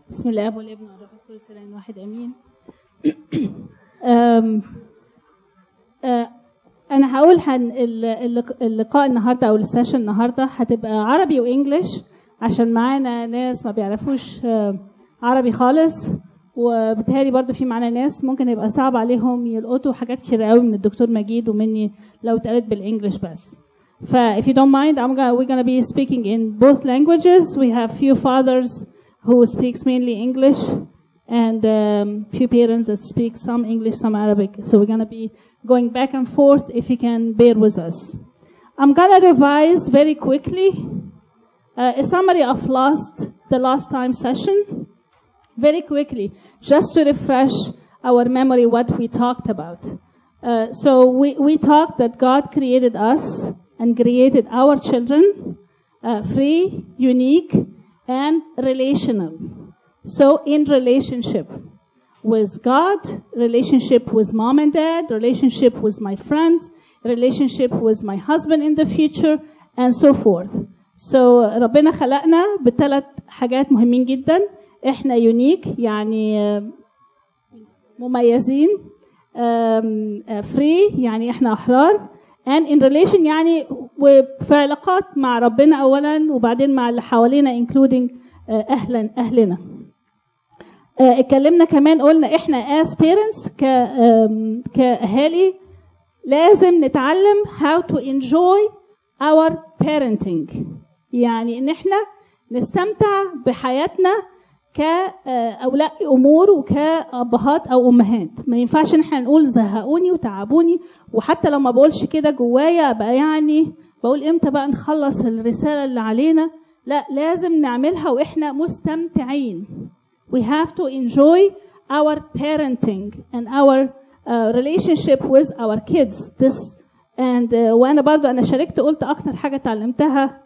بسم الله والابن والروح القدس الان واحد امين. انا هقول اللقاء النهارده او السيشن النهارده هتبقى عربي وانجليش عشان معانا ناس ما بيعرفوش عربي خالص، وبالتالي برضو في معانا ناس ممكن يبقى صعب عليهم يلقطوا حاجات كتير قوي من الدكتور مجيد ومني لو اتقالت بالانجليش بس. If you don't mind, we're gonna be speaking in both languages. We have few fathers who speaks mainly English and few parents that speak some English, some Arabic. So we're gonna be going back and forth if you can bear with us. I'm gonna revise very quickly a summary of the last time session, very quickly, just to refresh our memory what we talked about. So we talked that God created us and created our children free, unique, and relational. So in relationship with God, relationship with mom and dad, relationship with my friends, relationship with my husband in the future, and so forth. So ربنا خلقنا بثلاث حاجات مهمين جدا. احنا unique يعني مميزين، free يعني احنا احرار، and in relation يعني وفي علاقات مع ربنا اولا وبعدين مع اللي حوالينا including اهلنا. اتكلمنا كمان قلنا احنا as parents كاهالي لازم نتعلم how to enjoy our parenting، يعني ان احنا نستمتع بحياتنا كأولياء أمور وكأبهات أو أمهات. ما ينفعش إن احنا نقول زهقوني وتعبوني، وحتى لو ما بقولش كده جوايا بقى يعني بقول إمتى بقى نخلص الرسالة اللي علينا. لا، لازم نعملها وإحنا مستمتعين. We have to enjoy our parenting and our relationship with our kids. وأنا برضو أنا شاركت قلت أكتر حاجة تعلمتها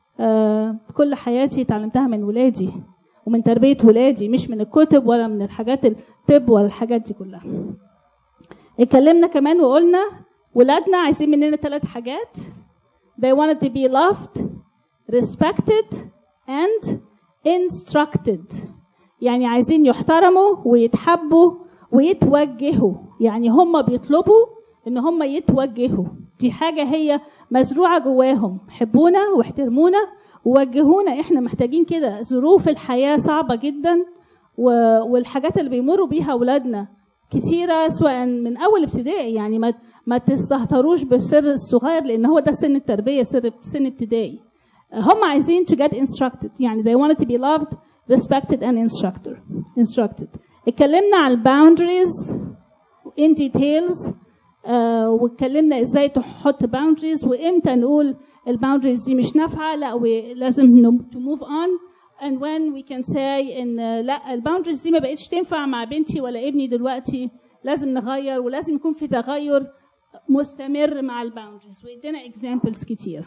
كل حياتي تعلمتها من ولادي ومن تربية ولادي، مش من الكتب ولا من الحاجات الطب ولا الحاجات دي كلها. اتكلمنا كمان وقلنا ولادنا عايزين مننا 3 حاجات. They wanted to be loved, respected and instructed. يعني عايزين يحترموا ويتحبوا ويتوجهوا، يعني هم بيطلبوا ان هم يتوجهوا. دي حاجة هي مزروعة جواهم، حبونا واحترمونا ووجهونا. احنا محتاجين كده. ظروف الحياة صعبة جدا والحاجات اللي بيمروا بيها اولادنا كتيرة، سواء من اول ابتدائي. يعني ما تستهتروش بالسر الصغير لان هو ده سن التربية، سن ابتدائي. هم عايزين to get instructed، يعني they wanted to be loved, respected and instructed. اتكلمنا على boundaries in details، واتكلمنا ازاي تحط boundaries وامتى نقول الباوندريز دي مش نافعه، لا لازم to move on and when we can say ان لا الباوندريز دي ما بقتش تنفع مع بنتي ولا ابني دلوقتي، لازم نغير ولازم يكون في تغير مستمر مع الباوندريز. وادينا examples كتير.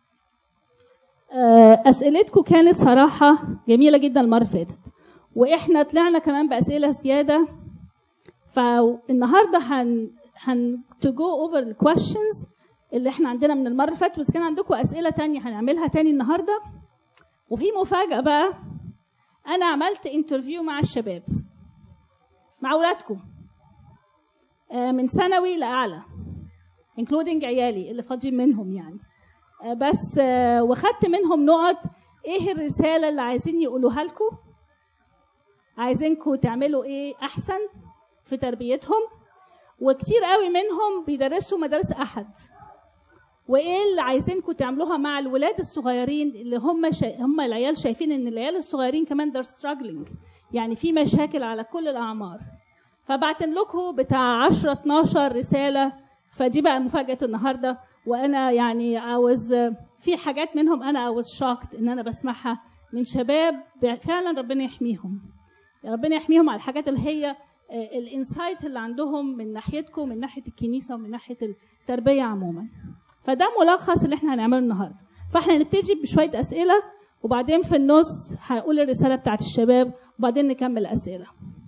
اسئلتكم كانت صراحه جميله جدا المره اللي فاتت، واحنا طلعنا كمان باسئله زياده. فالنهارده to go over the questions اللي احنا عندنا من المره اللي فاتت، بس كان عندكم اسئله تانية هنعملها تاني النهارده. وفي مفاجاه بقى، انا عملت انترفيو مع الشباب، مع اولادكم من ثانوي لاعلى including عيالي اللي فاضيين منهم يعني، بس وخدت منهم نقط ايه الرساله اللي عايزين يقولوها لكم، عايزينكم تعملوا ايه احسن في تربيتهم. وكتير قوي منهم بيدرسوا مدارس احد، وايه اللي عايزينكم تعملوها مع الولاد الصغيرين اللي هم العيال شايفين ان العيال الصغيرين كمان they're struggling، يعني في مشاكل على كل الاعمار. فبعت لكم بتاع 10-12 رساله. فدي بقى مفاجاه النهارده. وانا يعني في حاجات منهم انا was shocked ان انا بسمعها من شباب فعلا. ربنا يحميهم، ربنا يحميهم على الحاجات اللي هي الانسايت اللي عندهم من ناحيتكم، من ناحيه الكنيسه ومن ناحيه التربيه عموما. فده ملخص اللي احنا هنعمله النهارده. فاحنا نبتدي بشويه اسئله، وبعدين في النص هقول الرساله بتاعت الشباب، وبعدين نكمل اسئله.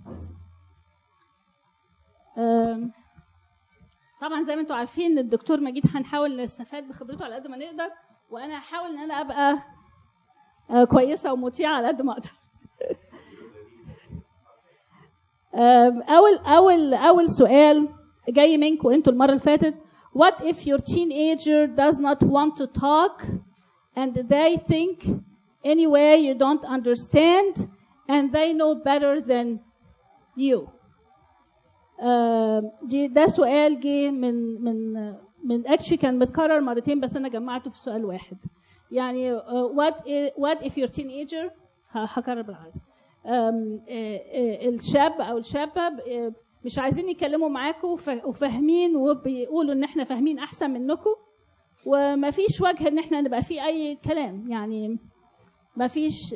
طبعا زي ما انتم عارفين الدكتور مجيد هنحاول نستفاد بخبرته على قد ما نقدر، وانا هحاول ان انا ابقى كويسه ومطيعه على قد ما اقدر. اول سؤال جاي منكم انتوا المره اللي فاتت. What if your teenager does not want to talk and they think anyway you don't understand and they know better than you؟ ده سؤال جه من actually كان متكرر مرتين بس انا جمعته في سؤال واحد. يعني what if your teenager، هكرر بالعربي، الشاب او الشابه مش عايزين يتكلموا معاكم وفاهمين وبيقولوا ان احنا فاهمين احسن منكم وما فيش وجه ان احنا نبقى في اي كلام، يعني ما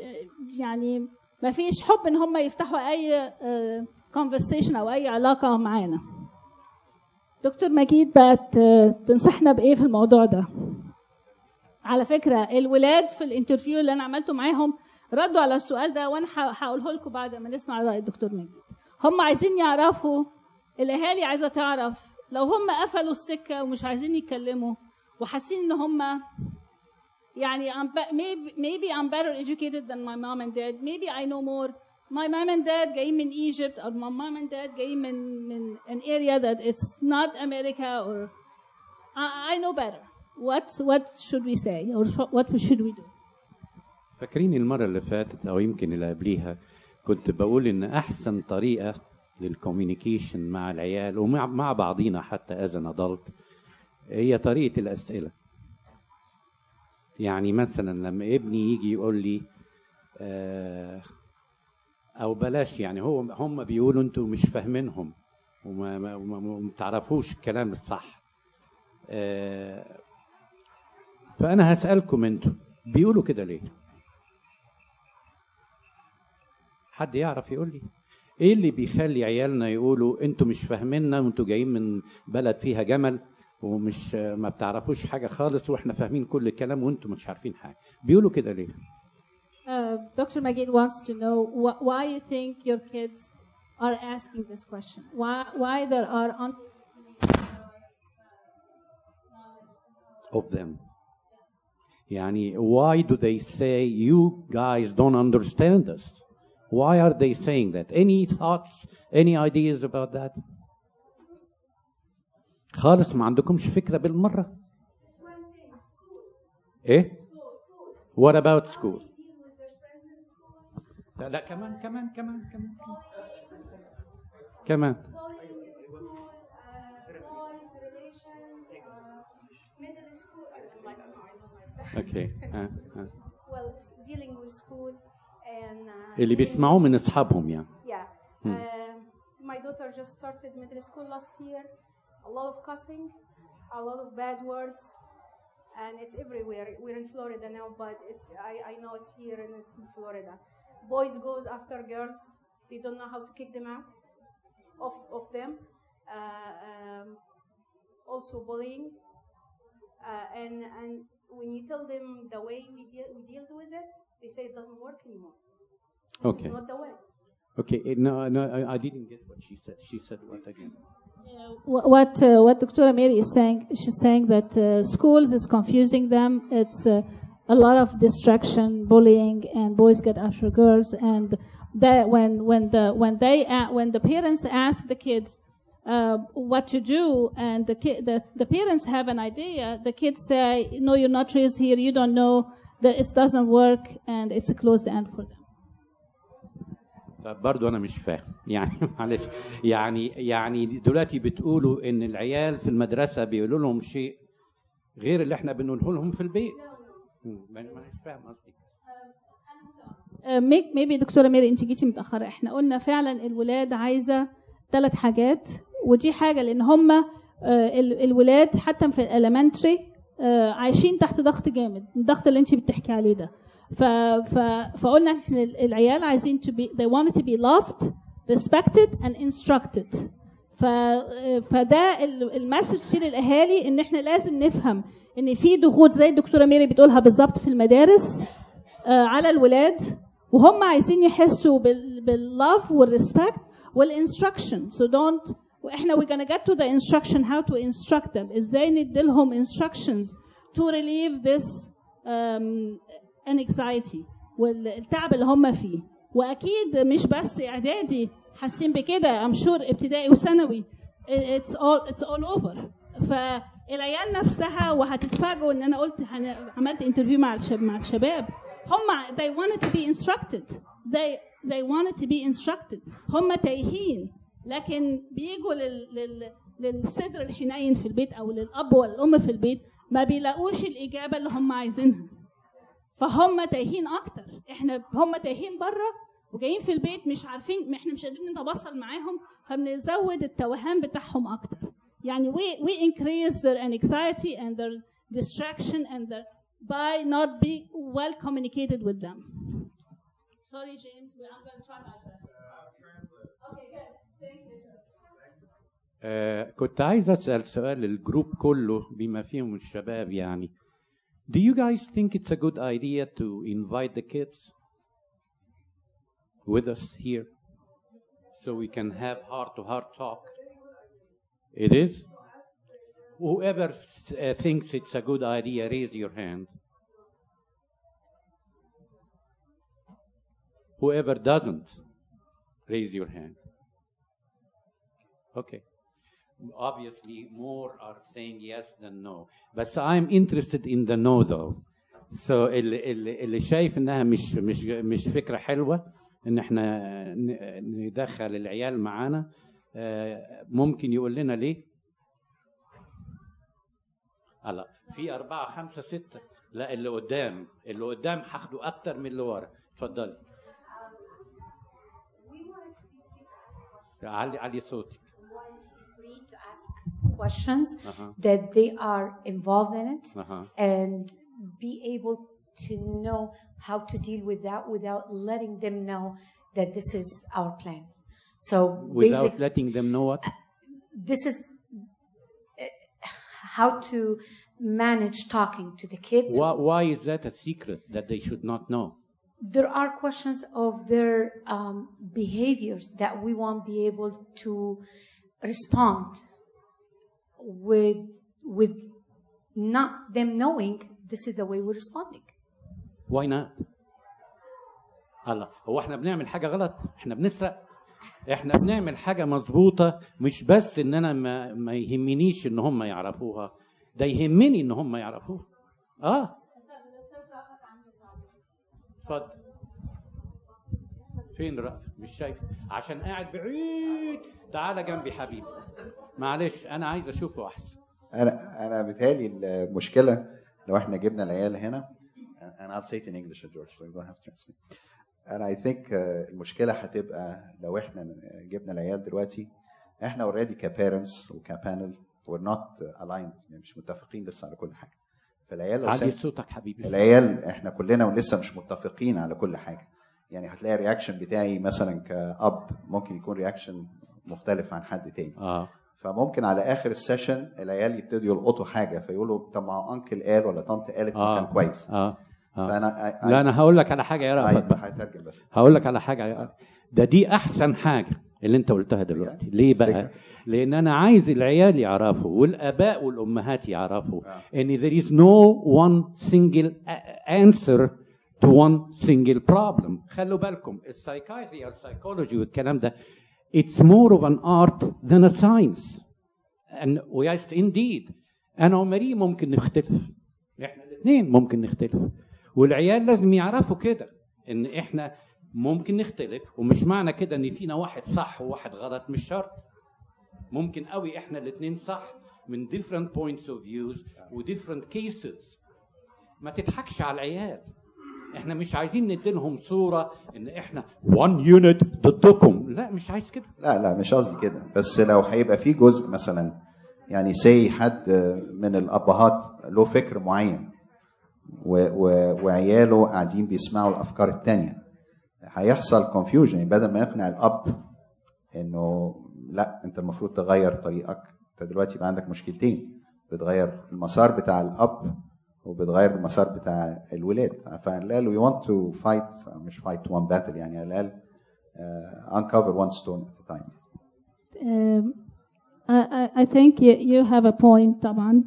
فيش حب ان هم يفتحوا اي conversation او اي علاقه معانا. دكتور مجيد بقى تنصحنا بايه في الموضوع ده؟ على فكره الولاد في الانترفيو اللي انا عملته معاهم ردوا على السؤال ده وانا هقوله لكم بعد ما نسمع راي الدكتور مجيد. هم عايزين يعرفوا، الاهالي عايزه تعرف لو هم قفلوا السكه ومش عايزين يتكلموا وحاسين ان هم يعني maybe I'm better educated than my mom and dad, maybe I know more. My mom and dad جايين من Egypt or my mom and dad جايين من an area that it's not America or I know better. What should we say or what should we do؟ فاكرين المرة اللي فاتت أو يمكن اللي قبليها كنت بقول إن أحسن طريقة للكوميونيكيشن مع العيال ومع بعضينا حتى as an adult هي طريقة الأسئلة. يعني مثلا لما ابني يجي يقول لي أو بلاش، يعني هم بيقولوا أنتوا مش فاهمينهم وما تعرفوش الكلام الصح، فأنا هسألكم أنتوا بيقولوا كده ليه؟ حد يعرف يقول لي ايه اللي بيخلي عيالنا يقولوا انتوا مش فاهميننا وانتوا جايين من بلد فيها جمل ومش ما بتعرفوش حاجه خالص واحنا فاهمين كل الكلام وانتوا مش عارفين حاجه؟ بيقولوا كده ليه؟ Dr. Magid wants to know why you think your kids are asking this question. Why there are of them. يعني why do they say you guys don't understand us? Why are they saying that? Any thoughts, any ideas about that? خالص ما عندكمش فكرة بالمرة؟ إيه؟ What about school? لا كمان. Okay. Well, dealing with school and اللي بيسمعوه من أصحابهم يعني. Yeah. My daughter just started middle school last year. A lot of cussing, a lot of bad words, and it's everywhere. We're in Florida now, but I know it's here and it's in Florida. Boys goes after girls. They don't know how to kick them out of them. Also bullying, and when you tell them the way we deal with it, they say it doesn't work anymore. This is not the way. Okay, no, I didn't get what she said. She said what again? What Dr. Mary is saying, she's saying that schools is confusing them. It's a lot of distraction, bullying, and boys get after girls. And that when the parents ask the kids what to do, and the parents have an idea, the kids say, "No, you're not raised here. You don't know that it doesn't work, and it's a closed end for them." طب برضو أنا مش فاهم يعني معلش يعني دلوقتي بتقولوا إن العيال في المدرسة بيقولوا لهم شيء غير اللي إحنا بنقوله لهم في البيت. ما أنا مش فاهم قصدي. maybe دكتورة ميري أنت جيتي متأخرة. إحنا قلنا فعلا الولاد عايزة 3 حاجات، ودي حاجة لأن هم الولاد حتى في الاليمنتري عايشين تحت ضغط جامد، الضغط اللي أنت بتحكي عليه ده. فقلنا احنا العيال عايزين they wanted to be loved, respected and instructed. فده المسج دي للاهالي ان احنا لازم نفهم ان في ضغوط زي الدكتوره ميري بتقولها بالظبط في المدارس على الولاد، وهم عايزين يحسوا باللove والريسبكت والانستراكشن. So don't احنا we're gonna get to the instruction how to instruct them، ازاي نديلهم instructions to relieve this anxiety والتعب اللي هم فيه. واكيد مش بس اعدادي حاسين بكده I'm sure ابتدائي وثانوي it's all over. فالعيال نفسها وهتتفاجئوا ان انا قلت عملت انترفيو مع الشباب هم they wanted to be instructed they wanted to be instructed. هم تايهين لكن بيجوا للصدر الحنين في البيت او للاب والام في البيت ما بيلاقوش الاجابه اللي هم عايزينها فهم تايهين اكتر. هم تايهين بره وجايين في البيت مش عارفين احنا مش قادرين نتواصل معاهم فبنزود التوهان بتاعهم اكتر. يعني we increase their anxiety and their distraction and their by not be well communicated with them. Sorry James, I'm going to try my best. Okay, good. Thank you. كنت عايز أسأل سؤال للجروب كله بما فيهم الشباب يعني. Do you guys think it's a good idea to invite the kids with us here so we can have heart-to-heart talk? It is? Whoever thinks it's a good idea, raise your hand. Whoever doesn't, raise your hand. Okay. Obviously, more are saying yes than no. But I'm interested in the no, though. So, اللي شايف إنها مش فكرة حلوة إن إحنا ندخل العيال معانا ممكن يقول لنا ليه؟ هلا في 4 5 6 لا اللي قدام هاخده أكتر من اللي ورا. اتفضلي. علي صوتك. Questions that they are involved in it and be able to know how to deal with that without letting them know that this is our plan. So without letting them know what? This is how to manage talking to the kids. Why is that a secret that they should not know? There are questions of their behaviors that we won't be able to respond with not them knowing this is the way we're responding. Why not? الله هو احنا بنعمل حاجة غلط؟ احنا بنسرق؟ احنا بنعمل حاجة مظبوطة مش بس ان انا ما يهمنيش ان هم يعرفوها ده يهمني ان هم يعرفوها. اتفضل. فين رأفت؟ مش شايف عشان قاعد بعيد. تعالى جنبي حبيبي. معلش انا عايز اشوفه احسن. انا بيتهيألي المشكله لو احنا جبنا العيال هنا and I'll say it in English George so you don't have to translate. and I think المشكله هتبقى لو احنا جبنا العيال دلوقتي احنا already كبارنتس وكبانل we're not aligned يعني مش متفقين لسه على كل حاجه. فالعيال لو علي صوتك حبيبي. العيال احنا كلنا لسه مش متفقين على كل حاجه. يعني هتلاقي الرياكشن بتاعي مثلا كأب ممكن يكون رياكشن مختلف عن حد تاني. فممكن على اخر السيشن العيال يبتدوا يلقطوا حاجه فيقولوا طب ما انكل قال ولا طنط قالت كان كويس. فانا لا انا هقول لك على حاجه يا رأفت بقى. هترجم بس. هقول لك على حاجه دي احسن حاجه اللي انت قلتها دلوقتي. ليه بقى؟ لان انا عايز العيال يعرفوا والاباء والامهات يعرفوا ان there is no one single answer to one single problem. خلوا بالكم السايكايتري او السايكولوجي والكلام ده it's more of an art than a science. and yes indeed انا وماري ممكن نختلف. احنا الاثنين ممكن نختلف والعيال لازم يعرفوا كده ان احنا ممكن نختلف ومش معنى كده ان فينا واحد صح وواحد غلط. مش شرط. ممكن قوي احنا الاثنين صح من different points of views و different cases. ما تضحكش على العيال. احنا مش عايزين نديلهم صورة ان احنا one unit ضدكم. لا مش عايز كده. لا مش قصدي كده. بس لو هيبقى في جزء مثلا يعني سي حد من الابهات له فكر معين وعياله قاعدين بيسمعوا الافكار التانية هيحصل confusion. بدل ما يقنع الاب انه لا انت المفروض تغير طريقك انت دلوقتي يبقى عندك مشكلتين بتغير المسار بتاع الاب وبتغير المسار بتاع الولاد. فقال له you want to fight مش fight one battle يعني قال uncover one stone at a time. I think you have a point طبعا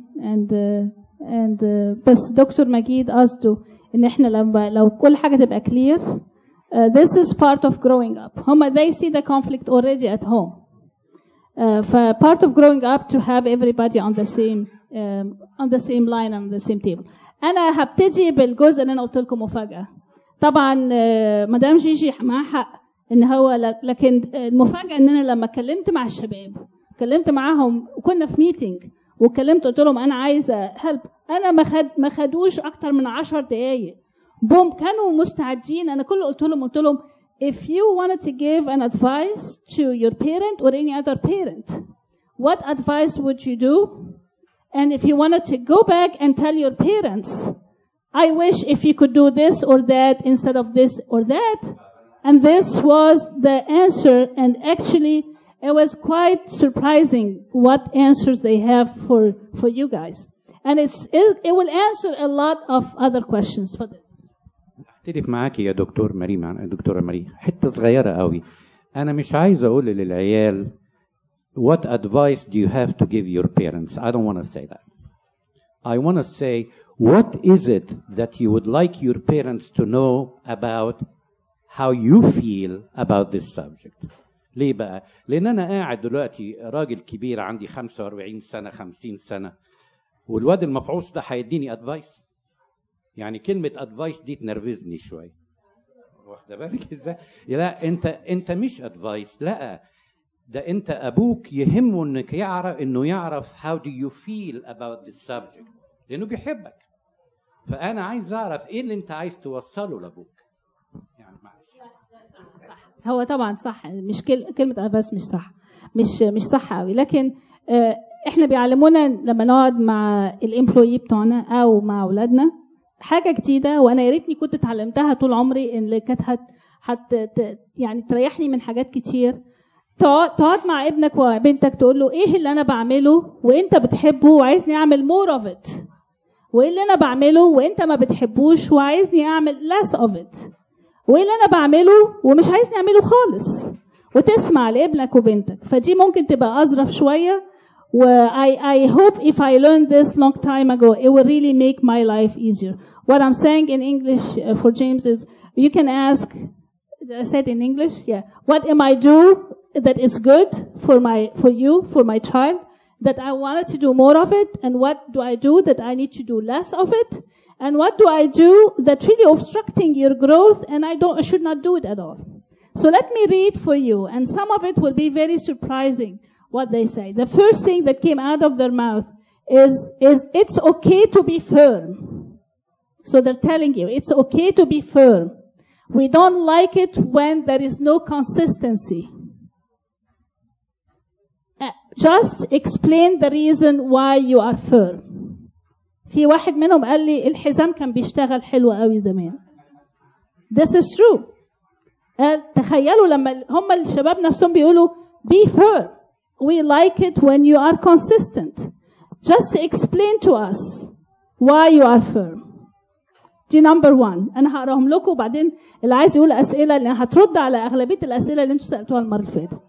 and بس دكتور مجيد قصده ان احنا لو كل حاجه تبقى clear This is part of growing up. They see the conflict already at home. Part of growing up to have everybody on the same line and on the same table. أنا هبتدي بالجزء اللي أنا قلت لكم مفاجأة. طبعا مدام جيجي معها حق إن هو لكن المفاجأة إن أنا لما اتكلمت مع الشباب اتكلمت معاهم وكنا في ميتينج واتكلمت قلت لهم أنا عايزة هلب. أنا ما خدوش أكتر من 10 دقايق. بوم كانوا مستعدين. أنا كل قلت لهم if you wanted to give an advice to your parent or any other parent, what advice would you do? And if you wanted to go back and tell your parents, I wish if you could do this or that instead of this or that. And this was the answer. And actually, it was quite surprising what answers they have for you guys. And it will answer a lot of other questions for them. اختلف معاكي يا دكتورة ماري حتة صغيرة قوي. أنا مش عايز أقول للعيال what advice do you have to give your parents. I don't want to say that. I want to say what is it that you would like your parents to know about how you feel about this subject. ليه بقى؟ لأن أنا قاعد دلوقتي راجل كبير عندي 45 سنة 50 سنة والواد المفعوص ده هيديني advice. يعني كلمة advice دي تنرفزني شوية. واخدة بالك ازاي؟ لا انت مش advice، لا ده انت ابوك يهمه انه يعرف how do you feel about this subject لانه بيحبك. فانا عايز اعرف ايه اللي انت عايز توصله لابوك. يعني معلش. صح. هو طبعا صح، مش كلمة advice مش صح، مش صح قوي، لكن احنا بيعلمونا لما نقعد مع الامبلويي بتوعنا او مع اولادنا حاجه جديده، وانا يا ريتني كنت اتعلمتها طول عمري، اللي كانت يعني تريحني من حاجات كتير. تقعد مع ابنك وبنتك تقول له ايه اللي انا بعمله وانت بتحبه وعايزني اعمل more of it، وايه اللي انا بعمله وانت ما بتحبوش وعايزني اعمل less of it، وايه اللي انا بعمله ومش عايزني اعمله خالص، وتسمع لابنك وبنتك. فدي ممكن تبقى اظرف شويه. I hope if I learned this long time ago, it will really make my life easier. What I'm saying in English for James is, you can ask, I said in English, yeah, what am I do that is good for my child, that I wanted to do more of it, and what do I do that I need to do less of it, and what do I do that's really obstructing your growth and I should not do it at all. So let me read for you, and some of it will be very surprising. What they say. The first thing that came out of their mouth is it's okay to be firm. So they're telling you it's okay to be firm. We don't like it when there is no consistency. Just explain the reason why you are firm. في واحد منهم قال لي الحزام كان بيشتغل حلو قوي زمان. This is true. تخيلوا لما هم الشباب نفسهم بيقولوا be firm. We like it when you are consistent. Just explain to us why you are firm. دي number one. أنا هقراهم لكم وبعدين اللي عايز يقول أسئلة لأن هترد على أغلبية الأسئلة اللي أنتوا سألتوها المرة اللي فاتت.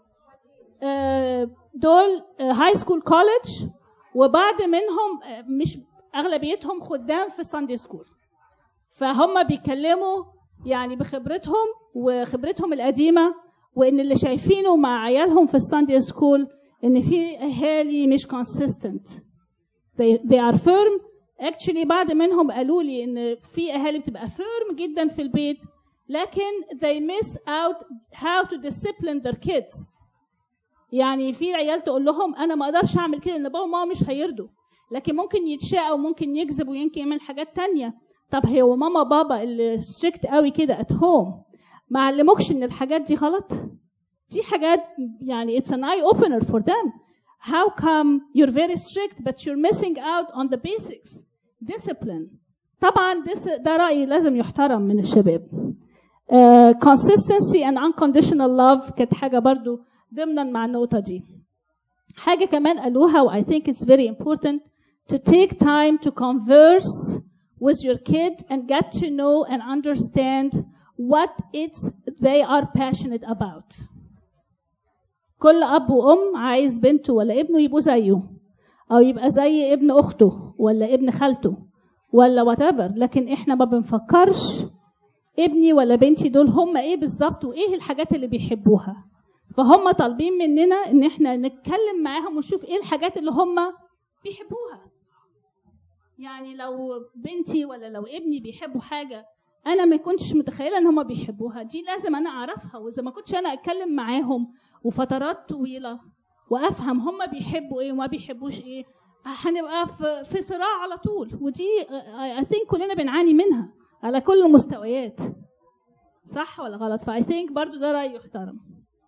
دول هاي سكول كوليدج، وبعد منهم مش أغلبيتهم خدام في ساندي سكول. فهم بيتكلموا يعني بخبرتهم وخبرتهم القديمة، وإن اللي شايفينه مع عيالهم في الساندي سكول إن في أهالي مش consistent. They are firm. Actually بعد منهم قالوا لي إن في أهالي بتبقى firm جدا في البيت، لكن they miss out how to discipline their kids. يعني في عيال تقول لهم أنا ما أقدرش أعمل كده إن بابا وماما مش هيرضوا، لكن ممكن يتشاء وممكن يكذب ويمكن يعمل حاجات تانية. طب هو ماما بابا اللي strict قوي كده at home ما علموكش ان الحاجات دي غلط؟ دي حاجات يعني it's an eye opener for them. How come you're very strict but you're missing out on the basics? Discipline. طبعا ده رأيي لازم يحترم من الشباب. Consistency and unconditional love كانت حاجة برضو ضمنا مع النقطة دي. حاجة كمان قالوها و I think it's very important to take time to converse with your kid and get to know and understand what they are passionate about. كل أب وأم عايز بنته ولا ابنه يبقوا زيه، أو يبقى زي ابن أخته ولا ابن خالته ولا whatever، لكن إحنا ما بنفكرش ابني ولا بنتي دول هم ايه بالظبط وايه الحاجات اللي بيحبوها. فهم طالبين مننا ان احنا نتكلم معاهم ونشوف ايه الحاجات اللي هم بيحبوها. يعني لو بنتي ولا لو ابني بيحبوا حاجه انا ما كنتش متخيله ان هم بيحبوها، دي لازم انا اعرفها. واذا ما كنتش انا اتكلم معاهم وفترات طويله وافهم هم بيحبوا ايه وما بيحبوش ايه، هنبقى في صراع على طول. ودي I think كلنا بنعاني منها على كل المستويات. صح ولا غلط؟ فاي ثينك برضو ده رأي يحترم.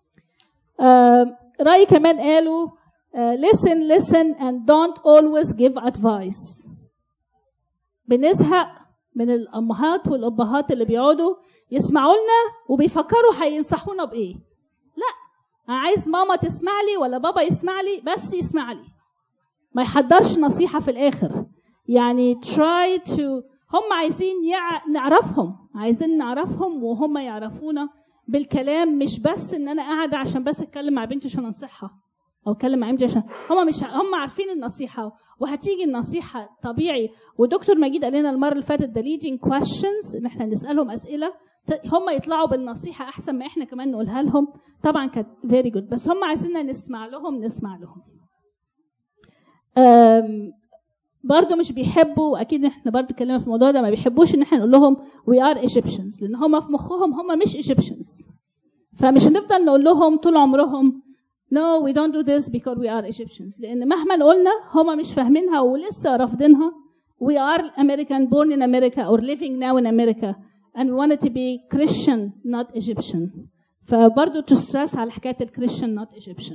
رأي كمان قالوا listen and don't always give advice. بنزهق من الأمهات والأبهات اللي بيقعدوا يسمعوا لنا وبيفكروا هينصحونا بإيه. لا، أنا عايز ماما تسمع لي ولا بابا يسمع لي، بس يسمع لي، ما يحضرش نصيحة في الآخر. يعني try to، هم عايزين عايزين نعرفهم وهم يعرفونا بالكلام، مش بس ان انا قاعده عشان بس اتكلم مع بنتي عشان انصحها او اتكلم مع بنتي عشان هم عارفين النصيحه وهتيجي النصيحه طبيعي. ودكتور مجيد قال لنا المره اللي فاتت ده leading questions، ان احنا نسالهم اسئله هم يطلعوا بالنصيحه احسن ما احنا كمان نقولها لهم. طبعا كانت very good، بس هم عايزيننا نسمع لهم. برضو مش بيحبوا، واكيد احنا برضو اتكلمنا في الموضوع ده، ما بيحبوش ان احنا نقول لهم we are Egyptians، لان هم في مخهم هم مش Egyptians. فمش هنفضل نقول لهم طول عمرهم no we don't do this because we are Egyptians، لان مهما قلنا هم مش فاهمينها ولسه رافضينها. we are American born in America or living now in America and we wanted to be Christian not Egyptian. فبرضو تسترس على حكايه الكريستيان not Egyptian.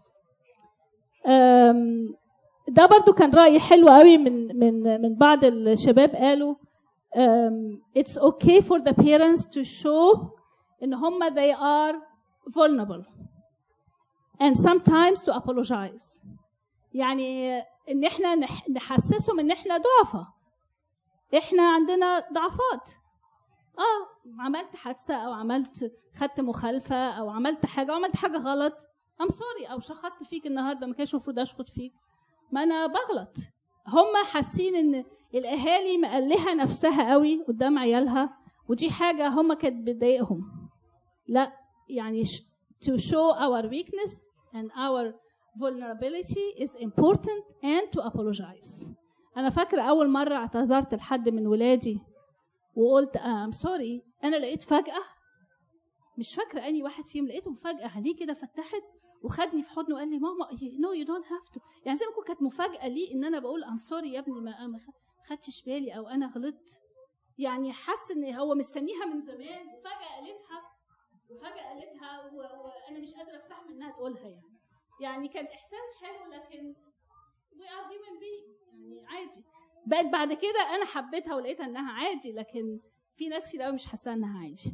ده برضو كان رأي حلو قوي من بعض الشباب. قالوا it's okay for the parents to show ان هم they are vulnerable and sometimes to apologize. يعني ان احنا نحسسهم ان احنا ضعفة، احنا عندنا ضعفات. عملت حادثة او خدت مخالفة او عملت حاجة غلط I'm sorry، او شخطت فيك النهاردة ما كانش المفروض اشخط فيك، ما انا بغلط. هم حاسين ان الاهالي مقلها نفسها قوي قدام عيالها، ودي حاجه هم كانت بتضايقهم. لا، يعني to show our weakness and our vulnerability is important and to apologize. انا فاكره اول مره اعتذرت لحد من ولادي وقلت I'm sorry، انا لقيت فجاه، مش فاكره اني واحد فيهم، لقيتهم فجاه عينيه كده فتحت وخدني في حضنه وقال لي ماما no you don't have to. يعني زي ما كانت مفاجأة لي ان انا بقول I'm sorry يا ابني ما خدتش بالي او انا غلطت. يعني حس ان هو مستنيها من زمان وفجأة قالتها وانا مش قادرة استحمل انها تقولها. يعني كان احساس حلو، لكن we are human being، يعني عادي. بقت بعد كده انا حبيتها ولقيتها انها عادي، لكن في ناس كتير قوي مش حاسة انها عادي.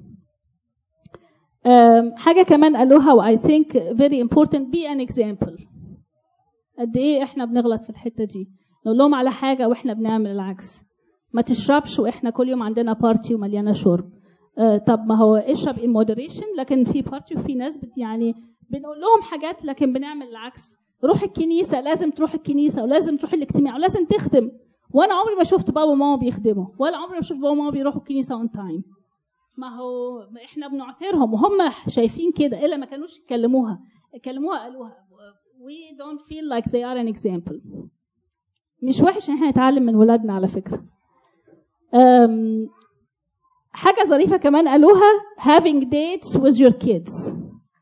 حاجة كمان قالوها و I think very important be an example. قد ايه احنا بنغلط في الحتة دي، نقول لهم على حاجة واحنا بنعمل العكس. ما تشربش واحنا كل يوم عندنا بارتي ومليانة شرب. طب ما هو اشرب in moderation، لكن في بارتي وفي ناس يعني بنقول لهم حاجات لكن بنعمل العكس. روح الكنيسة، لازم تروح الكنيسة ولازم تروح الاجتماع ولازم تخدم. وانا عمري ما شفت بابا وماما بيخدموا، ولا عمري ما شفت بابا وماما بيروحوا الكنيسة on time. ما هو احنا بنعثرهم وهم شايفين كده، الا ما كانوش يكلموها قالوها. we don't feel like they are an example. مش وحش ان احنا نتعلم من ولادنا على فكرة. حاجة ظريفة كمان قالوها having dates with your kids.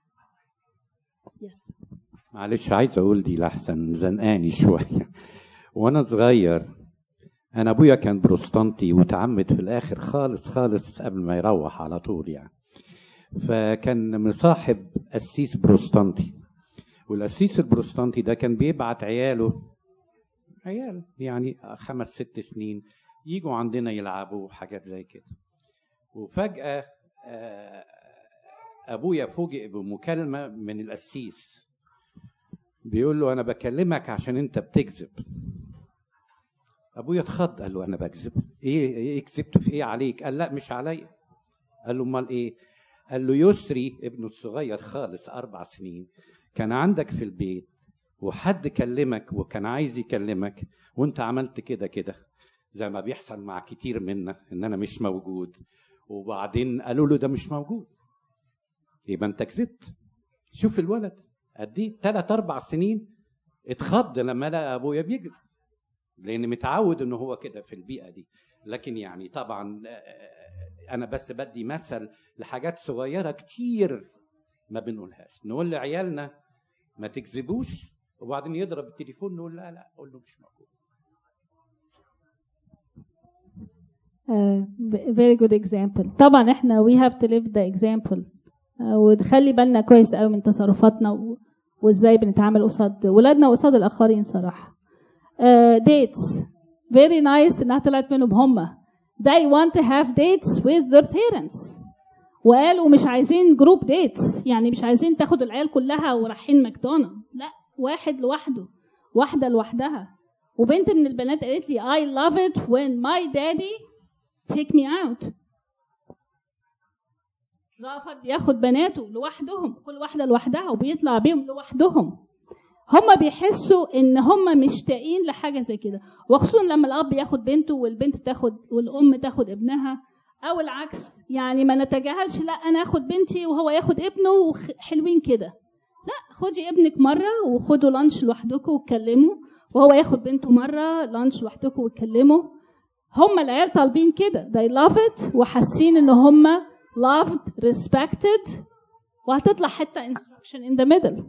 yes. معلش عايز اقول دي لحسن زنقاني شوية. وانا صغير انا ابويا كان بروستانتي وتعمد في الاخر خالص قبل ما يروح على طول يعني. فكان مصاحب قسيس بروستانتي، والقسيس البروستانتي ده كان بيبعت عيال يعني 5-6 سنين يجوا عندنا يلعبوا حاجات زي كده. وفجأة ابويا فوجئ بمكالمة من القسيس بيقول له انا بكلمك عشان انت بتكذب. ابويا اتخض، قال له انا بكذب؟ ايه كذبت في ايه عليك؟ قال لا مش عليا. قال له امال ايه؟ قال له يسري ابنه الصغير خالص 4 سنين كان عندك في البيت وحد كلمك وكان عايز يكلمك وانت عملت كده زي ما بيحصل مع كتير منا ان انا مش موجود وبعدين قالوا له ده مش موجود، يبقى انت كذبت. شوف الولد قد ايه 3-4 سنين اتخض لما لقى ابويا بيكذب، لان متعود ان هو كده في البيئه دي. لكن يعني طبعا انا بس بدي مثل لحاجات صغيره كتير ما بنقولهاش. نقول لعيالنا ما تكذبوش، وبعدين يضرب التليفون نقول لا قول له مش موجود. very good example. طبعا احنا we have to live the example. ونخلي بالنا كويس قوي من تصرفاتنا وازاي بنتعامل قصاد ولادنا وقصاد الاخرين صراحه. dates very nice انها طلعت منهم هم. they want to have dates with their parents. وقالوا مش عايزين جروب dates، يعني مش عايزين تاخد العيال كلها ورايحين ماكدونالدز، لا، واحد لوحده، واحده لوحدها. وبنت من البنات قالت لي I love it when my daddy take me out. رافض ياخد بناته لوحدهم، كل واحده لوحدها، وبيطلع بيهم لوحدهم. هم بيحسوا ان هم مشتاقين لحاجه زي كده، وخصوصا لما الاب ياخد بنته والبنت تاخد والام تاخد ابنها، او العكس. يعني ما نتجاهلش لا انا اخد بنتي وهو ياخد ابنه وحلوين كده، لا، خدي ابنك مره وخدوا لانش لوحدكم واتكلموا، وهو ياخد بنته مره لانش لوحدكم واتكلموا. هم العيال طالبين كده، they love it وحاسين ان هم loved respected، وهتطلع حتى instruction in the middle.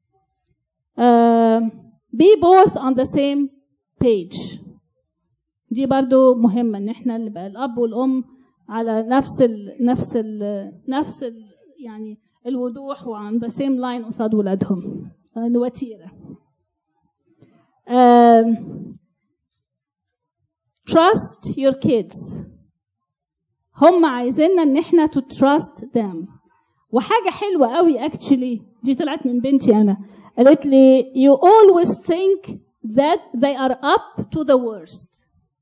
be both on the same page. دي برضو مهمة ان احنا نبقى الاب والام على نفس ال يعني الوضوح وعن the same line قصاد ولادهم. وتيرة. trust your kids. هم عايزيننا ان احنا to trust them. وحاجة حلوة قوي actually دي طلعت من بنتي انا، قالت لي you always think that they are up to the worst.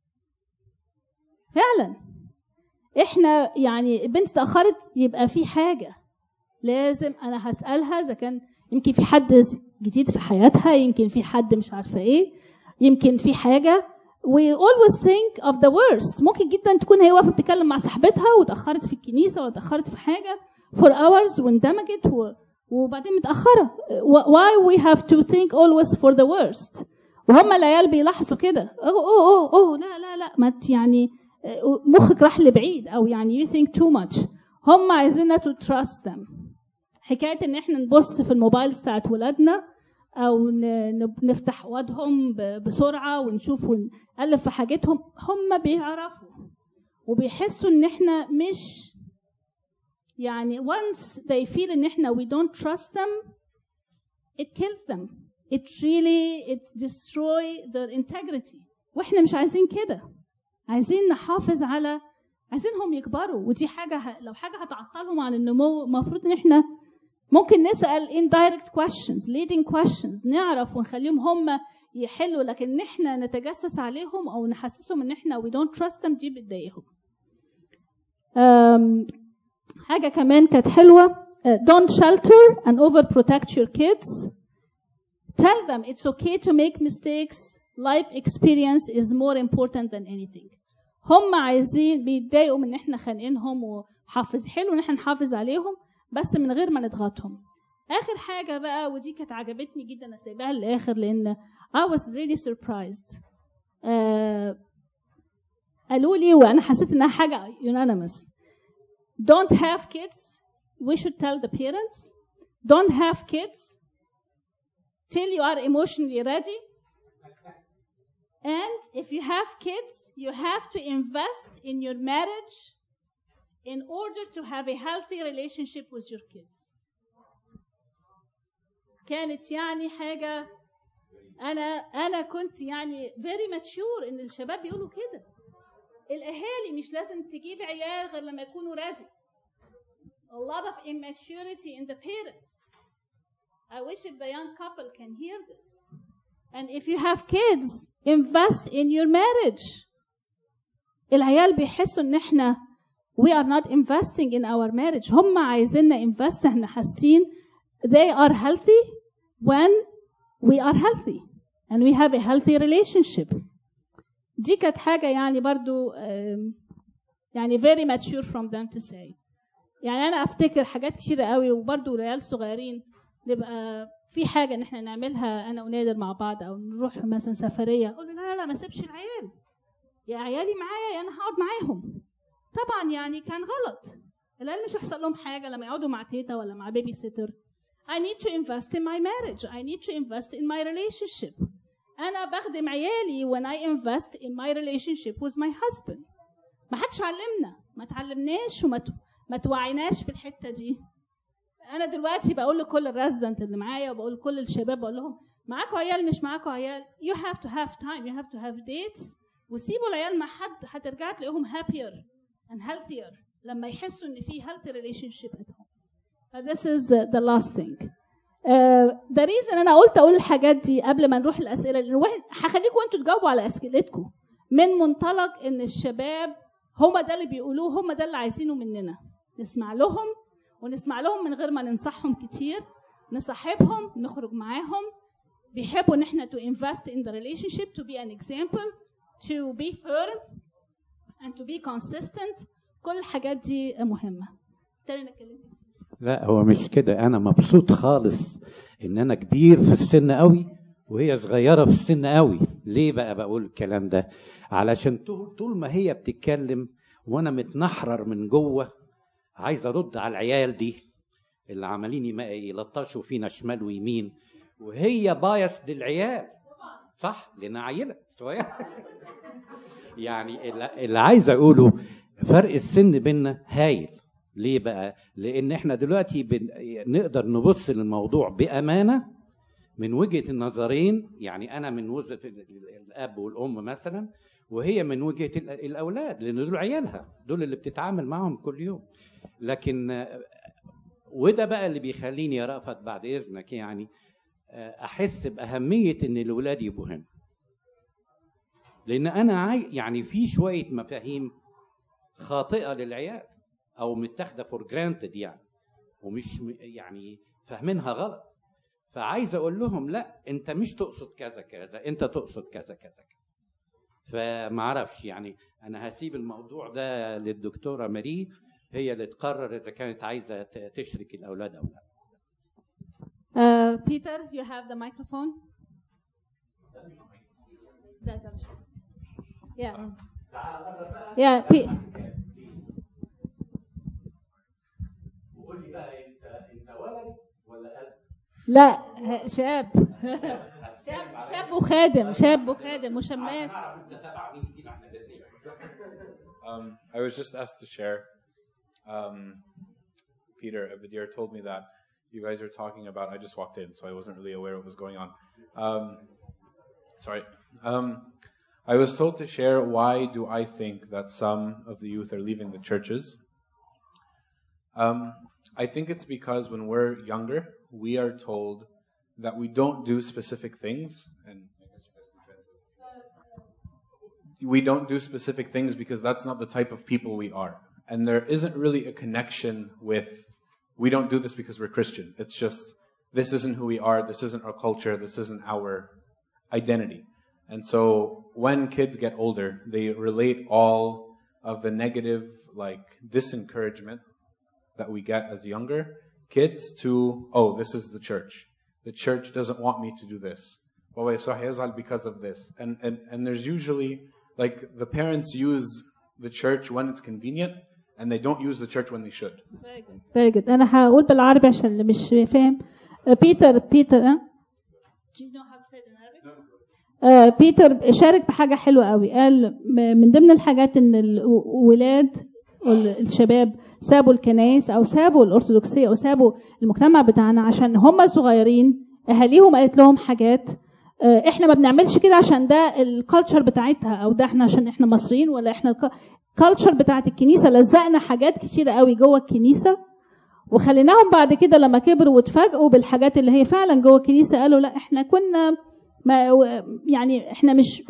فعلا احنا يعني البنت تأخرت يبقى في حاجة لازم انا هسألها، اذا كان يمكن في حد جديد في حياتها، يمكن في حد مش عارفة ايه، يمكن في حاجة. we always think of the worst. ممكن جدا تكون هي واقفة بتتكلم مع صاحبتها وتأخرت في الكنيسة ولا تأخرت في حاجة for hours واندمجت وبعدين متأخرة. why we have to think always for the worst؟ وهم العيال بيلاحظوا كده، اوه لا ما يعني مخك راح لبعيد، او يعني you think too much. هم عايزيننا to trust them. حكاية ان احنا نبص في الموبايل بتاعت ولادنا او نفتح وادهم بسرعة ونشوف ونقلب في حاجتهم، هم بيعرفوا وبيحسوا ان احنا مش يعني once they feel ان احنا we don't trust them it kills them. it destroy their integrity. واحنا مش عايزين كده، عايزين نحافظ على، عايزينهم يكبروا. ودي حاجة لو حاجة هتعطلهم عن النمو، المفروض ان احنا ممكن نسأل indirect questions leading questions، نعرف ونخليهم هم يحلوا، لكن احنا نتجسس عليهم او نحسسهم ان احنا we don't trust them دي بتضايقهم. حاجة كمان كانت حلوة، don't shelter and overprotect your kids. Tell them it's okay to make mistakes. Life experience is more important than anything. هم عايزين بيتضايقوا من ان احنا خانقينهم وحافظ، حلو ان احنا نحافظ عليهم بس من غير ما نضغطهم. اخر حاجة بقى ودي كانت عجبتني جدا، انا سايباها للاخر لان I was really surprised. قالوا لي وانا حسيت انها حاجة unanimous. Don't have kids. We should tell the parents. Don't have kids till you are emotionally ready. And if you have kids, you have to invest in your marriage in order to have a healthy relationship with your kids. كانت يعني حاجة أنا كنت يعني very mature إن الشباب بيقولوا كده. الأهالي مش لازم تجيب عيال غير لما يكونوا ready. A lot of immaturity in the parents. I wish if the young couple can hear this. And if you have kids, invest in your marriage. العيال بيحسوا إن إحنا we are not investing in our marriage. هم عايزيننا invest، إحنا حاسين they are healthy when we are healthy and we have a healthy relationship. دي كانت حاجة يعني برضو يعني very mature from them to say. يعني انا افتكر حاجات كتيره قوي، وبرده ريال صغيرين نبقى في حاجه ان احنا نعملها انا ونادر مع بعض، او نروح مثلا سفريه، اقول له لا لا لا ما سيبش العيال، يا عيالي معايا انا هقعد معاهم. طبعا يعني كان غلط، العيال مش هيحصل لهم حاجه لما يقعدوا مع تيتا ولا مع بيبي سيتر. I need to invest in my marriage. I need to invest in my relationship. أنا بخدم عيالي when I invest in my relationship with my husband. ما حدش علمنا، ما تعلمناش وما توعيناش في الحتة دي. أنا دلوقتي بقول لكل الريزيدنت اللي معايا، وبقول لكل الشباب، بقول لهم معاكوا عيال مش معاكوا عيال، you have to have time, you have to have dates، وسيبوا العيال مع حد هترجع تلاقيهم happier and healthier لما يحسوا إن في healthy relationship at home. This is the last thing. ده ريزن انا قلت اقول الحاجات دي قبل ما نروح الاسئله، لان هخليكم انتوا تجاوبوا على اسئلتكم من منطلق ان الشباب هم ده اللي بيقولوه، هم ده اللي عايزينه مننا، نسمع لهم ونسمع لهم من غير ما ننصحهم كتير، نصاحبهم، نخرج معاهم، بيحبوا ان احنا to invest in the relationship, to be an example, to be firm and to be consistent. كل الحاجات دي مهمه. تاني نتكلم. لا هو مش كده، انا مبسوط خالص ان انا كبير في السن قوي وهي صغيره في السن قوي. ليه بقى بقول الكلام ده؟ علشان طول ما هي بتتكلم وانا متنحرر من جوه عايز ارد على العيال دي اللي عمالين يلطشوا فينا شمال ويمين، وهي بايس للعيال صح لانها عيله صغيره. يعني اللي عايز اقوله فرق السن بيننا هايل. ليه بقى؟ لان احنا دلوقتي نقدر نبص للموضوع بامانه من وجهه النظرين، يعني انا من وجهه الاب والام مثلا، وهي من وجهه الاولاد، لان دول عيالها، دول اللي بتتعامل معهم كل يوم. لكن وده بقى اللي بيخليني يا رأفت بعد اذنك يعني احس باهميه ان الاولاد يبقوا هنا، لان انا يعني في شويه مفاهيم خاطئه للعيال او متاخده فور جرانتد يعني، ومش يعني فاهمينها غلط. فعايز اقول لهم لا انت مش تقصد كذا كذا، انت تقصد كذا كذا كذا. فما اعرفش يعني، انا هسيب الموضوع ده للدكتوره ماري، هي اللي تقرر اذا كانت عايزه تشرك الاولاد او لا. Peter, you have the microphone. Yeah. قولي بقى انت ولد ولا قد؟ لا شاب. شاب وخادم وشماس. I was just asked to share. Peter Abadir told me that you guys are talking about. I just walked in, so I wasn't really aware what was going on. Sorry. I was told to share why do I think that some of the youth are leaving the churches. I think it's because when we're younger, we are told that we don't do specific things, and I guess you guys can translate. We don't do specific things because that's not the type of people we are. And there isn't really a connection with, we don't do this because we're Christian. It's just, this isn't who we are, this isn't our culture, this isn't our identity. And so when kids get older, they relate all of the negative, like, disencouragement that we get as younger kids to, oh, this is the church. The church doesn't want me to do this. Because of this. And there's usually, like, the parents use the church when it's convenient, and they don't use the church when they should. Very good. Very good. أنا هقول بالعربي عشان اللي مش فاهم. Peter. Do you know how to say it in Arabic? بيتر شارك بحاجة حلوة قوي. قال من ضمن الحاجات إن الولاد والشباب سابوا الكنائس أو سابوا الأرثوذكسية أو سابوا المجتمع بتاعنا عشان هم صغيرين. أهاليهم قالت لهم حاجات إحنا ما بنعملش كده عشان ده الكالتشر بتاعتها، أو ده إحنا عشان إحنا مصريين، ولا إحنا الكالتشر بتاعت الكنيسة. لزقنا حاجات كتيرة قوي جوه الكنيسة وخليناهم بعد كده لما كبروا واتفاجئوا بالحاجات اللي هي فعلا جوه الكنيسة قالوا لا إحنا كنا يعني إحنا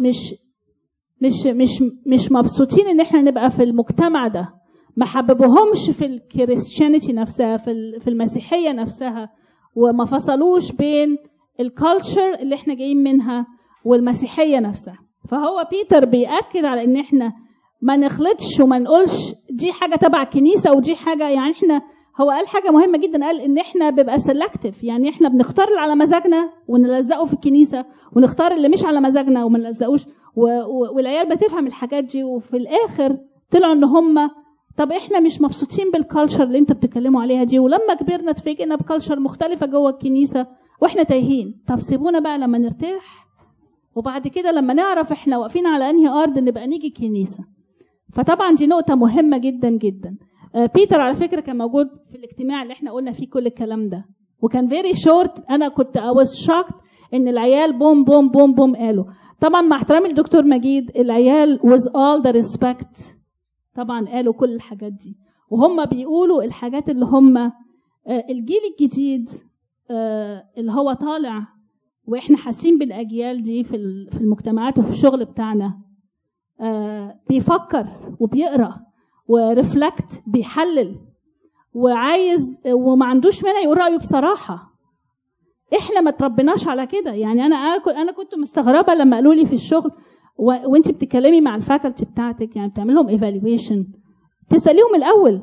مش مبسوطين إن إحنا نبقى في المجتمع ده. ما حببوهمش في الكريستيانيتي نفسها، في المسيحية نفسها، وما فصلوش بين الكالتشر اللي احنا جايين منها والمسيحية نفسها. فهو بيتر بيأكد على ان احنا ما نخلطش وما نقولش دي حاجه تبع الكنيسه ودي حاجه. يعني احنا هو قال حاجه مهمه جدا، قال ان احنا بيبقى سيلكتيف، يعني احنا بنختار اللي على مزاجنا ونلزقه في الكنيسه، ونختار اللي مش على مزاجنا وما نلزقوش. والعيال بتفهم الحاجات دي، وفي الاخر طلعوا ان هم طب احنا مش مبسوطين بالكالتشر اللي انتوا بتتكلموا عليها دي، ولما كبرنا اتفاجئنا بكالتشر مختلفه جوه الكنيسه واحنا تايهين. طب سيبونا بقى لما نرتاح، وبعد كده لما نعرف احنا واقفين على انهي ارض نبقى نيجي الكنيسه. فطبعا دي نقطه مهمه جدا جدا. بيتر على فكره كان موجود في الاجتماع اللي احنا قلنا فيه كل الكلام ده، وكان فيري شورت. انا كنت I was shocked ان العيال بوم بوم بوم بوم قالوا. طبعا مع احترامي للدكتور مجيد، العيال with all the respect طبعا قالوا كل الحاجات دي، وهم بيقولوا الحاجات اللي هم الجيل الجديد اللي هو طالع، واحنا حاسين بالاجيال دي في المجتمعات وفي الشغل بتاعنا، بيفكر وبيقرا ورفلكت، بيحلل وعايز وما عندوش مانع يقول رايه بصراحه. احنا ما تربيناش على كده. يعني انا كنت مستغربه لما قالوا لي في الشغل وانت بتتكلمي مع الفاكولتي بتاعتك، يعني بتعمل لهم ايفالويشن، تساليهم الاول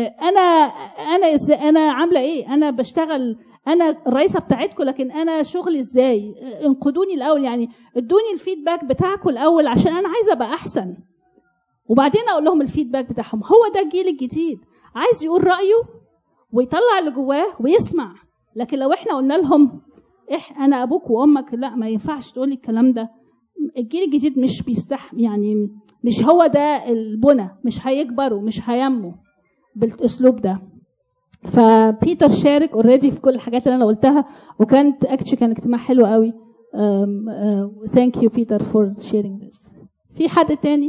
انا عامله ايه، انا بشتغل، انا الرئيسه بتاعتكم، لكن انا شغلي ازاي، انقدوني الاول، يعني ادوني الفيدباك بتاعكم الاول عشان انا عايزه ابقى احسن، وبعدين اقول لهم الفيدباك بتاعهم. هو ده الجيل الجديد، عايز يقول رايه ويطلع اللي جواه ويسمع. لكن لو احنا قلنا لهم انا ابوك وامك، لا ما ينفعش تقولي الكلام ده. الجيل الجديد مش بيستحمل، يعني مش هو ده البنى، مش هيكبروا، مش هينموا بالاسلوب ده. فبيتر شارك اوريدي في كل الحاجات اللي انا قلتها، وكانت كان اجتماع حلو قوي. ثانك يو بيتر فور شيرينج ذس. في حد تاني؟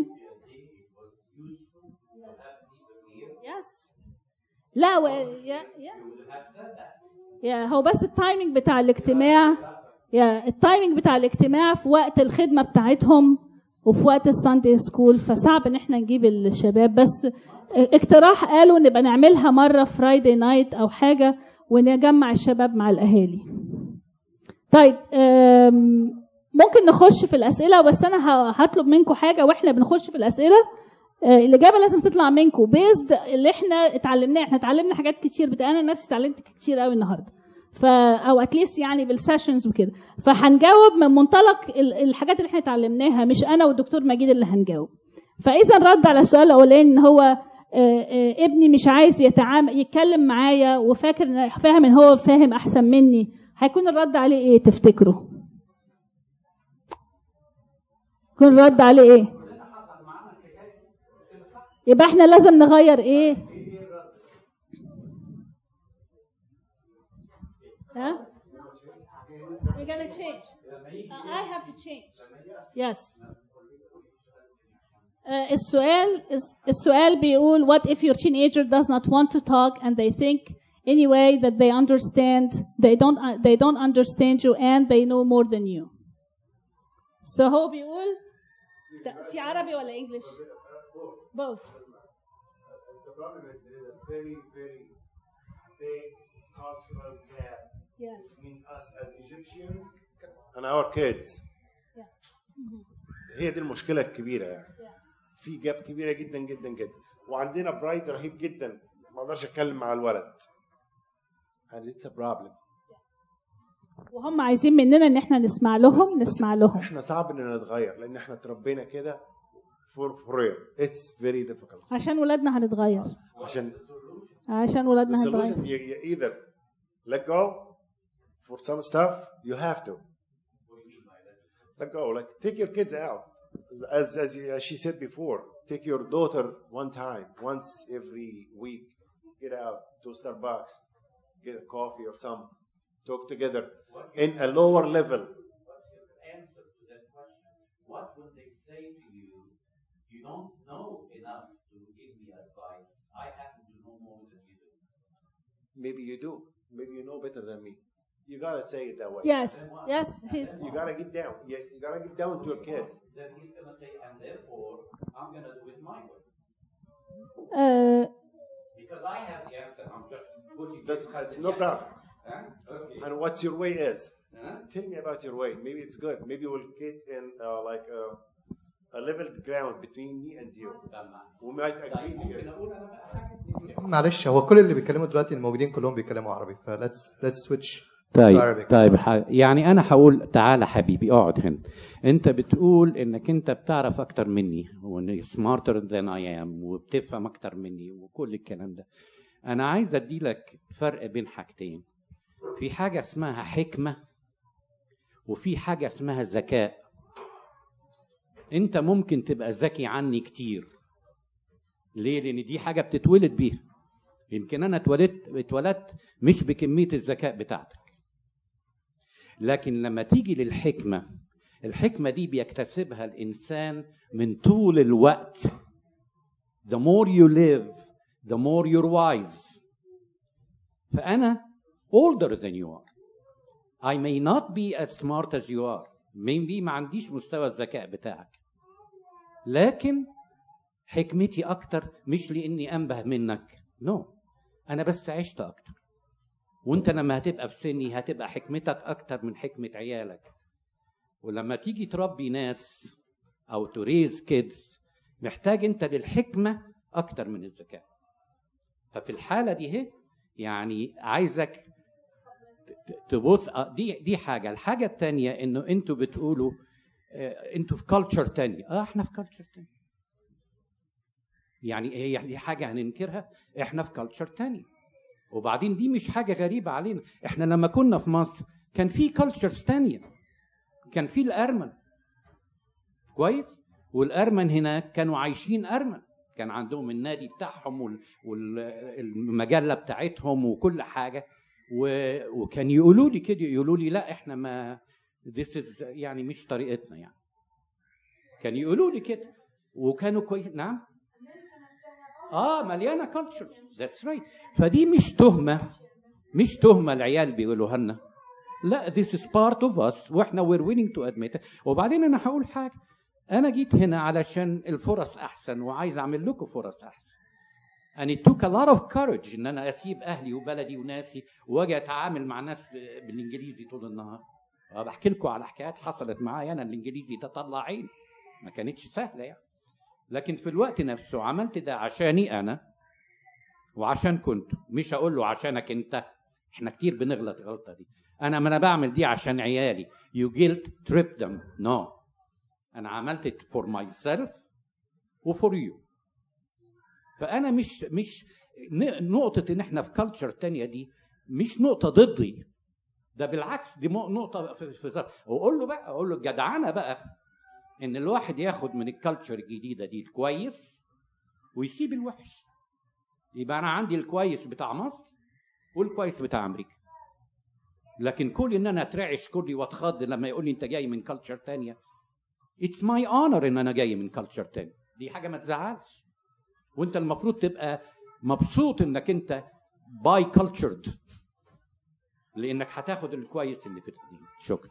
يس. لا يا هو بس التايمينج بتاع الاجتماع، التايمينج بتاع الاجتماع في وقت الخدمه بتاعتهم وفي وقت الساندي سكول، فصعب ان احنا نجيب الشباب. بس اقتراح قالوا نبقى نعملها مره فرايداي نايت او حاجه ونجمع الشباب مع الاهالي. طيب ممكن نخش في الاسئله، بس انا هطلب منكم حاجه واحنا بنخش في الاسئله. الاجابه لازم تطلع منكم بيزد اللي احنا اتعلمناه. احنا اتعلمنا حاجات كتير، انا نفسي اتعلمت كتير قوي النهارده، او اتليست يعني بالسيشنز وكده. فهنجاوب من منطلق الحاجات اللي احنا اتعلمناها، مش انا والدكتور مجيد اللي هنجاوب. فاذا رد على السؤال الاولاني ان هو ابني مش عايز يتكلم معايا وفاكر فاهم ان هو فاهم احسن مني، هيكون الرد عليه ايه تفتكروا؟ يكون الرد عليه ايه؟ يبقى احنا لازم نغير ايه؟ ها؟ We're gonna change. I have to change. Yes. السؤال بيقول what if your teenager does not want to talk and they think anyway that they understand, they don't understand you and they know more than you. So هو بيقول في عربي ولا English? Both. The problem is there is a very, very big cultural gap between us as Egyptians and our kids. هي دي المشكلة الكبيرة يعني. في جاب كبيرة جدا جدا جدا، وعندنا برايد رهيب جدا، ما اقدرش اتكلم مع الولد. And it's a problem. وهم عايزين مننا ان احنا نسمع لهم. احنا صعب اننا نتغير لان احنا اتربينا كده for real. It's very difficult. عشان ولادنا هنتغير. عشان ولادنا هنتغير. The solution you either let go for some stuff, you have to let go. Like take your kids out, as she said before. Take your daughter once every week. Get out to Starbucks, get a coffee or some. Talk together in a lower level. Answer to that question. What would they say to you? You don't know enough to give me advice. I happen to know more than you do. Maybe you do. Maybe you know better than me. You gotta say it that way. Yes. You gotta get down. Yes, you gotta get down to your kids. Then he's gonna say, and therefore I'm gonna do it my way. Because I have the answer. I'm just putting. That's no problem. Okay. And what your way is? Tell me about your way. Maybe it's good. Maybe we'll get in a level ground between me and you. We might agree together. معلش هو كل اللي بيتكلموا دلوقتي الموجودين كلهم بيتكلموا عربي ف let's switch. طيب يعني انا هقول تعالى حبيبي اقعد هنا. انت بتقول انك انت بتعرف اكتر مني وانك smarter than I am وبتفهم اكتر مني وكل الكلام ده. انا عايز ادي لك فرق بين حاجتين. في حاجه اسمها حكمه وفي حاجه اسمها ذكاء. انت ممكن تبقى ذكي عني كتير. ليه؟ لان دي حاجه بتتولد بيها. يمكن انا اتولدت مش بكميه الذكاء بتاعتك. لكن لما تيجي للحكمه، الحكمه دي بيكتسبها الانسان من طول الوقت. The more you live, the more you're wise. فأنا older than you are. I may not be as smart as you are. maybe ما عنديش مستوى الذكاء بتاعك. لكن حكمتي أكتر مش لأني أنبه منك. No. أنا بس عشت أكتر. وأنت لما هتبقى في سني هتبقى حكمتك أكتر من حكمة عيالك. ولما تيجي تربي ناس أو to raise kids محتاج أنت للحكمة أكتر من الذكاء. ففي الحالة دي هي يعني عايزك تبص. دي حاجة. الحاجة التانية إنه أنتوا بتقولوا أنتوا في كالتشر تانية. إحنا في كالتشر تانية. يعني هي دي حاجة هننكرها؟ إحنا في كالتشر تانية. وبعدين دي مش حاجة غريبة علينا. إحنا لما كنا في مصر كان في كالتشرز تانية. كان في الأرمن. كويس؟ والأرمن هناك كانوا عايشين أرمن. كان عندهم النادي بتاعهم والمجلة بتاعتهم وكل حاجة. وكان يقولوا لي كده، يقولوا لي لا احنا ما this is يعني مش طريقتنا يعني. كان يقولوا لي كده وكانوا كويس. نعم مليانة كالتشر. that's right. فدي مش تهمة العيال بيقولوها لنا. لا this is part of us واحنا we're willing to admit it. وبعدين انا هقول حاجة. أنا جيت هنا علشان الفرص أحسن وعايز أعمل لكم فرص أحسن. And it took a lot of courage إن أنا أسيب أهلي وبلدي وناسي وأجي أتعامل مع ناس بالإنجليزي طول النهار. بحكي لكم على حكايات حصلت معايا أنا. الإنجليزي ده طلع عين، ما كانتش سهلة يعني. لكن في الوقت نفسه عملت ده عشاني أنا وعشان كنت. مش هقول له عشانك أنت. إحنا كتير بنغلط الغلطة دي. أنا بعمل دي عشان عيالي. You guilt trip them. No. أنا عملت it for myself و for you. فأنا مش نقطة إن إحنا في كالتشر تانية دي مش نقطة ضدي. ده بالعكس دي نقطة في ذات. أقول له الجدعنة بقى إن الواحد ياخد من الكالتشر الجديدة دي الكويس ويسيب الوحش. يبقى أنا عندي الكويس بتاع مصر والكويس بتاع أمريكا. لكن كل إن أنا أترعش كلي وأتخض لما يقول لي أنت جاي من كالتشر تانية. It's my honor إن أنا جاي من كالتشر تاني. دي حاجة ما تزعلش. وأنت المفروض تبقى مبسوط إنك أنت باي كالتشرد لأنك هتاخد الكويس اللي في الدين. شكرا.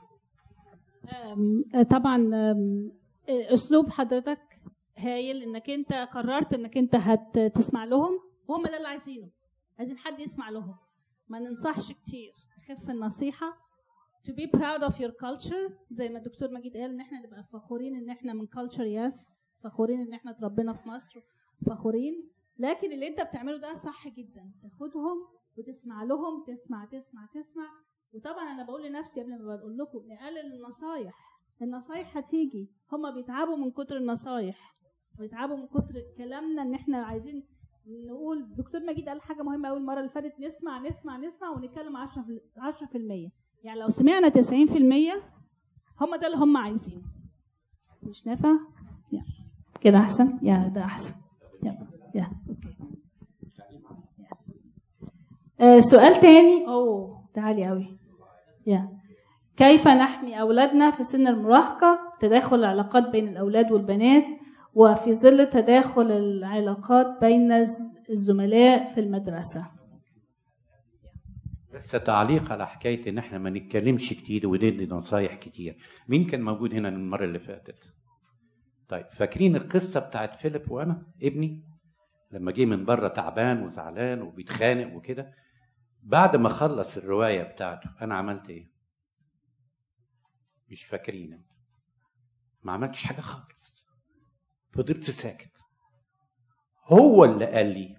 طبعا أسلوب حضرتك هايل إنك أنت قررت إنك أنت هتسمع لهم وهم ده اللي عايزينه. عايزين حد يسمع لهم. ما ننصحش كتير. خف النصيحة. To be proud of your culture زي ما الدكتور مجيد قال ان احنا نبقى فخورين ان احنا من culture. فخورين ان احنا اتربينا في مصر. فخورين. لكن اللي انت بتعمله ده صح جدا. تاخدهم وتسمع لهم. تسمع. وطبعا انا بقول لنفسي قبل ما بقول لكم نقلل النصايح هتيجي. هما بيتعبوا من كتر النصايح ويتعبوا من كتر كلامنا ان احنا عايزين نقول. الدكتور مجيد قال حاجة مهمة أول مرة اللي فاتت. نسمع ونتكلم 10%. يعني لو سمعنا 90% هم ده اللي هم عايزينه. مش نافع؟ كده أحسن؟ ده أحسن. أوكي. سؤال تاني. ده عالي أوي. كيف نحمي أولادنا في سن المراهقة تداخل العلاقات بين الأولاد والبنات وفي ظل تداخل العلاقات بين الزملاء في المدرسة؟ بس تعليق على حكاية ان احنا ما نتكلمش كتير وندي نصايح كتير. مين كان موجود هنا المرة اللي فاتت؟ طيب فاكرين القصة بتاعت فيليب وانا ابني لما جه من بره تعبان وزعلان وبيتخانق وكده؟ بعد ما خلص الرواية بتاعته انا عملت ايه؟ مش فاكرين؟ ما عملتش حاجة خالص. فضلت ساكت. هو اللي قال لي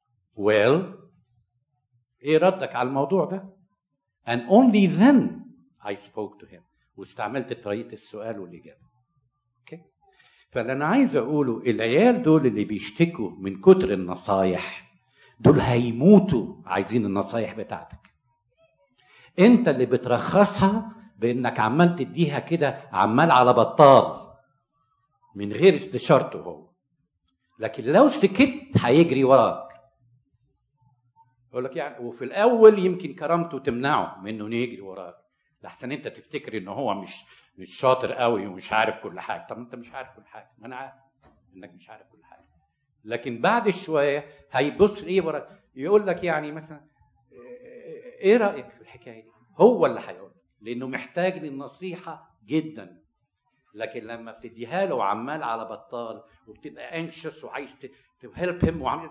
ايه ردك على الموضوع ده؟ and only then I spoke to him. واستعملت طريقة السؤال والإجابة. اوكي؟ فاللي أنا عايز أقوله العيال دول اللي بيشتكوا من كتر النصايح دول هيموتوا عايزين النصايح بتاعتك. أنت اللي بترخصها بإنك عمال تديها كده عمال على بطال من غير استشارته هو. لكن لو سكت هيجري وراك. يقول لك يعني وفي الاول يمكن كرامته تمنعه من انه يجري وراك، لحسن انت تفتكر ان هو مش شاطر قوي ومش عارف كل حاجه. طب انت مش عارف كل حاجه، ما انا عارف انك مش عارف كل حاجه. لكن بعد شويه هيبص ايه وراك، يقول لك يعني مثلا ايه رايك في الحكايه دي؟ هو اللي هيقول، لانه محتاج للنصيحه جدا. لكن لما بتديها له عمال على بطال وبتبقى انكشس وعايز تهلب هيم وعامل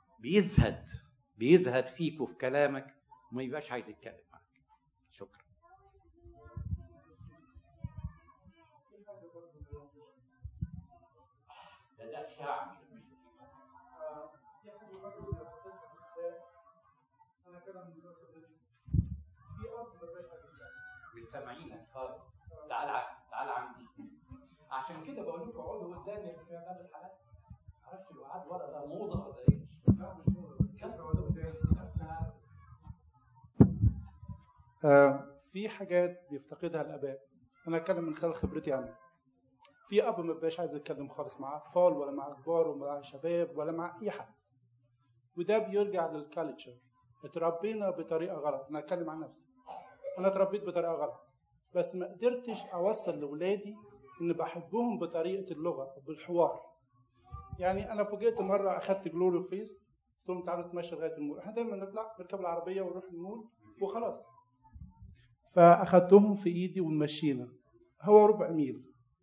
بيزهد فيك وفي كلامك وما يبقاش عايز يتكلم معك. شكرا. ده شعبي مش سامعينك خالص. تعال عندي. عشان كده بقول لكم اقعدوا قدامي في باب الحلقه. معرفش لو قعد ورا ده موضه ولا ايه؟ في حاجات بيفتقدها الاباء. انا اتكلم من خلال خبرتي عنها. في اب ما بيبقاش عايز يتكلم خالص مع اطفال ولا مع كبار ولا مع شباب ولا مع اي حد، وده بيرجع للكالتشر. اتربينا بطريقه غلط. انا اتكلم عن نفسي، انا اتربيت بطريقه غلط، بس ما قدرتش اوصل لاولادي ان بحبهم بطريقه اللغه بالحوار. يعني انا فوجئت مره اخدت جلوري فيس، قلت لهم تعالوا نتمشى لغايه المول. احنا دايما نطلع نركب العربيه ونروح المول وخلاص. فاخدتهم في ايدي ومشينا، هو ربع ميل.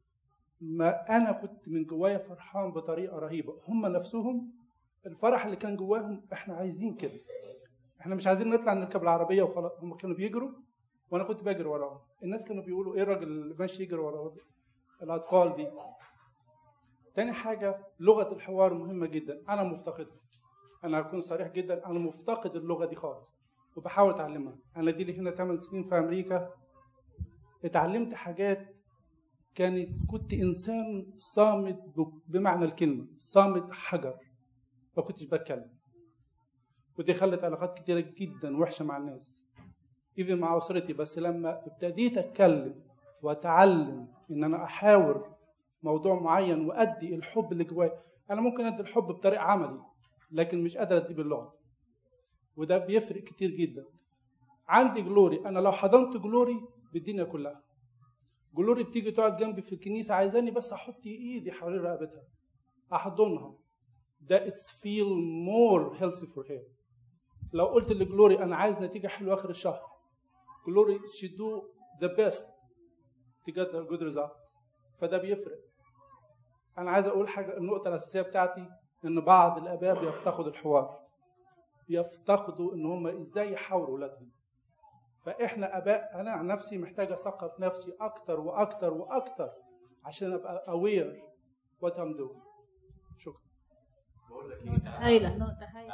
ما انا كنت من جوايا فرحان بطريقه رهيبه. هم نفسهم الفرح اللي كان جواهم احنا عايزين كده، احنا مش عايزين نطلع نركب العربيه وخلاص. هم كانوا بيجروا وانا كنت بجري وراهم. الناس كانوا بيقولوا ايه الراجل اللي ماشي يجري ورا الاطفال دي. تاني حاجه لغه الحوار مهمه جدا، انا مفتقدها. انا هكون صريح جدا، انا مفتقد اللغه دي خالص وبحاول اتعلمها. انا دي لي هنا 8 سنين في امريكا، اتعلمت حاجات كنت انسان صامت بمعنى الكلمه، صامت حجر، ما كنتش بتكلم. ودي خلت علاقات كتيره جدا وحشه مع الناس، ايفن مع اسرتي. بس لما ابتديت اتكلم واتعلم ان انا احاور موضوع معين وادي الحب اللي جوايا. انا ممكن ادي الحب بطريقه عملي لكن مش قادر اديه باللغه، وده بيفرق كتير جدا. عندي جلوري، انا لو حضنت جلوري بالدنيا كلها. جلوري بتيجي تقعد جنبي في الكنيسه عايزاني بس احط ايدي حوالين رقبتها احضنها. ده it's feel more healthy for her. لو قلت لجلوري انا عايز نتيجه حلوه اخر الشهر، جلوري she do the best to get a good result. فده بيفرق. انا عايز اقول حاجه، النقطه الاساسيه بتاعتي ان بعض الاباء بيفتقدوا الحوار، بيفتقدوا ان هم ازاي يحاوروا اولادهم. فاحنا اباء، انا عن نفسي محتاج اثقف نفسي اكتر واكتر واكتر عشان ابقى aware what I'm doing. شكرا. بقول لك ايه، هايله نقطه هايله.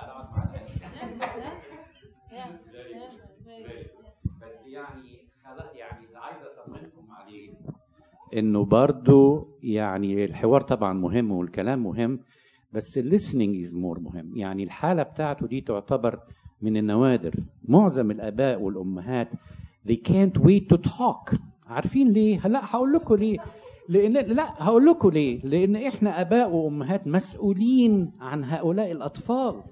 بس يعني اللي عايز اطمنكم عليه انه برضو يعني الحوار طبعا مهم والكلام مهم، بس listening is more مهم. يعني الحالة بتاعته دي تعتبر من النوادر. معظم الآباء والأمهات they can't wait to talk. عارفين ليه؟ لا هقول لكم ليه. لأن إحنا آباء وأمهات مسؤولين عن هؤلاء الأطفال.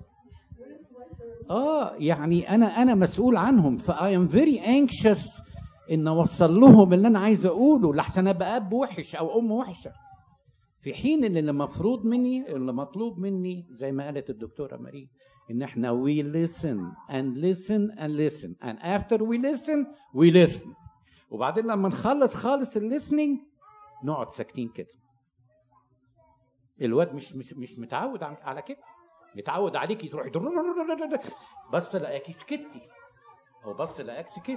يعني أنا مسؤول عنهم، ف I am very anxious إن أوصل لهم اللي أنا عايز أقوله، لحسن أبقى أب وحش أو أم وحشة. في حين ان اللي مطلوب مني زي ما قالت الدكتوره ماري ان احنا we listen and listen and listen and after we listen وبعدين لما نخلص خالص الليسننج نقعد ساكتين كده. الواد مش متعود على كده، متعود عليكي تروحي بس لاقيكي سكتي او بس لاقيك سكت،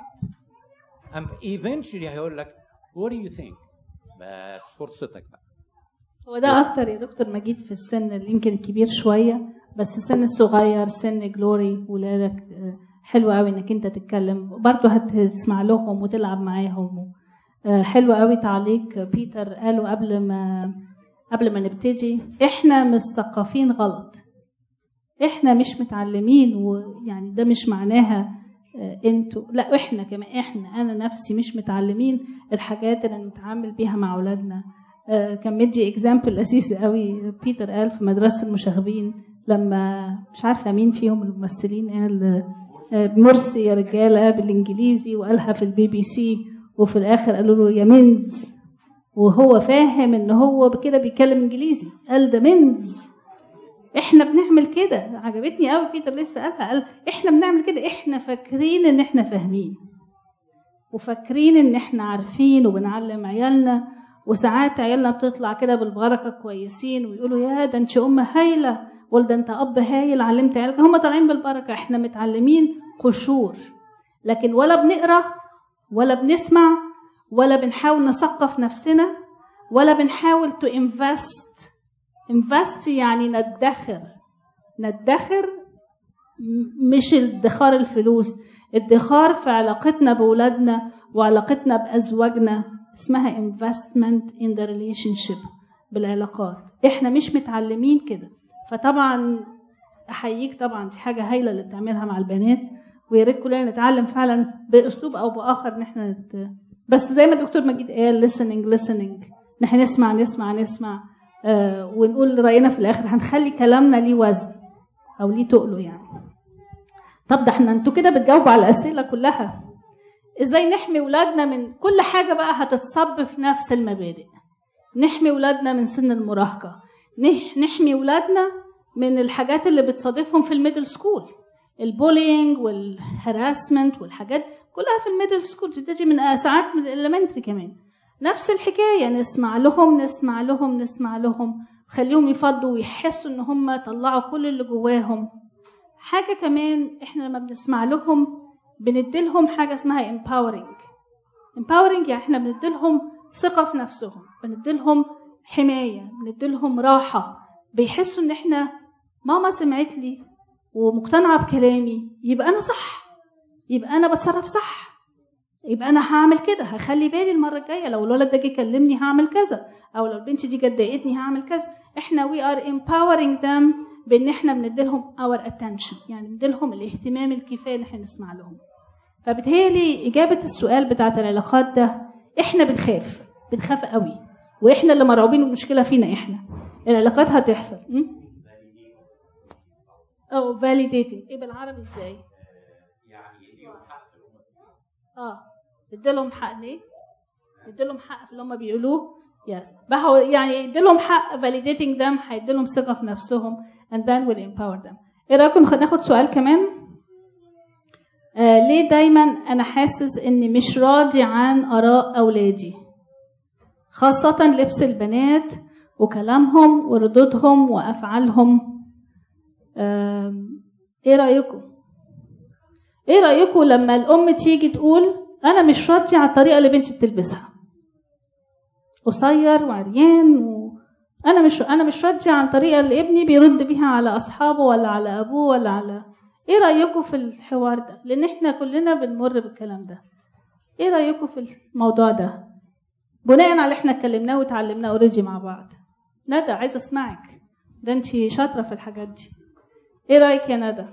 eventually هيقول لك what do you think؟ بس فرصتك بقى. هو ده اكتر يا دكتور مجيد في السن اللي يمكن الكبير شويه، بس السن الصغير سن جلوري ولادك حلو قوي انك انت تتكلم برضه، هتسمع لهم وتلعب معاهم. حلو قوي تعليق بيتر قالوا قبل ما نبتدي، احنا مثقفين غلط، احنا مش متعلمين، ويعني ده مش معناها انتوا، لا احنا كمان، انا نفسي مش متعلمين الحاجات اللي نتعامل بيها مع اولادنا. كان مدي اكزامبل لذيذ قوي بيتر قال في مدرسه المشاغبين، لما مش عارفه مين فيهم الممثلين قال مرسي يا رجاله بالانجليزي، وقالها في البي بي سي، وفي الاخر قالوا له يا منز، وهو فاهم ان هو كده بيتكلم انجليزي، قال ده منز. احنا بنعمل كده، عجبتني قوي بيتر لسه قالها، قال احنا بنعمل كده، احنا فاكرين ان احنا فاهمين وفاكرين ان احنا عارفين وبنعلم عيالنا، وساعات عيالنا بتطلع كده بالبركه كويسين ويقولوا يا ده انت ام هايله، ولا ده انت اب هايل علمت عيالك، هم طالعين بالبركه. احنا متعلمين قشور، لكن ولا بنقرا ولا بنسمع ولا بنحاول نثقف نفسنا ولا بنحاول تو invest يعني ندخر مش ادخار الفلوس، ادخار في علاقتنا بولادنا وعلاقتنا بأزواجنا، اسمها investment in the relationship، بالعلاقات. احنا مش متعلمين كده. فطبعا احييك، طبعا دي حاجه هايله اللي بتعملها مع البنات، ويا ريت كلنا نتعلم فعلا باسلوب او باخر ان احنا بس زي ما الدكتور مجيد قال listening نحن نسمع ونقول راينا في الاخر، هنخلي كلامنا ليه وزن او ليه تقله يعني. طب ده انتوا كده بتجاوبوا على الاسئله كلها. ازاي نحمي ولادنا من كل حاجه بقى هتتصب في نفس المبادئ؟ نحمي ولادنا من سن المراهقه، نحمي ولادنا من الحاجات اللي بتصادفهم في الميدل سكول، البولينج والهراسمنت والحاجات كلها في الميدل سكول، تجي من ساعات من الاليمنتري كمان. نفس الحكايه، نسمع لهم خليهم يفضوا ويحسوا ان هم طلعوا كل اللي جواهم. حاجه كمان، احنا لما بنسمع لهم بنديلهم حاجه اسمها empowering، يعني احنا بنديلهم ثقه في نفسهم، بنديلهم حمايه، بنديلهم راحه، بيحسوا ان احنا ماما سمعت لي ومقتنعه بكلامي، يبقى انا صح، يبقى انا بتصرف صح، يبقى انا هعمل كده، هخلي بالي المره الجايه لو الولد ده جه يكلمني هعمل كذا، او لو البنت دي جت ضايقتني هعمل كذا. احنا we are empowering them بان احنا بنديلهم our attention، يعني بنديلهم الاهتمام الكفايه ان احنا نسمع لهم. فبالتالي اجابه السؤال بتاعه العلاقات ده، احنا بنخاف قوي، واحنا اللي مرعوبين، المشكله فينا احنا. العلاقات هتحصل او validating، ايه بالعربي ازاي؟ اديلهم حق ليه؟ اديلهم حق في اللي هم بيقولوه، يعني اديلهم حق validating them، هيديلهم ثقه في نفسهم and then will empower them. ايه رايكم ناخد سؤال كمان؟ ليه دايما انا حاسس اني مش راضي عن اراء اولادي، خاصه لبس البنات وكلامهم وردودهم وافعالهم؟ ايه رايكم لما الام تيجي تقول انا مش راضيه على الطريقه اللي بنتي بتلبسها، قصير وعريان، انا مش راضيه على الطريقه اللي ابني بيرد بيها على اصحابه ولا على ابوه ولا على. ايه رايكم في الحوار ده؟ لان احنا كلنا بنمر بالكلام ده. ايه رايكم في الموضوع ده بناء على اللي احنا اتكلمناه وتعلمناه اوريدي مع بعض؟ ندى عايزه اسمعك، ده انت شاطره في الحاجات دي. ايه رايك يا ندى؟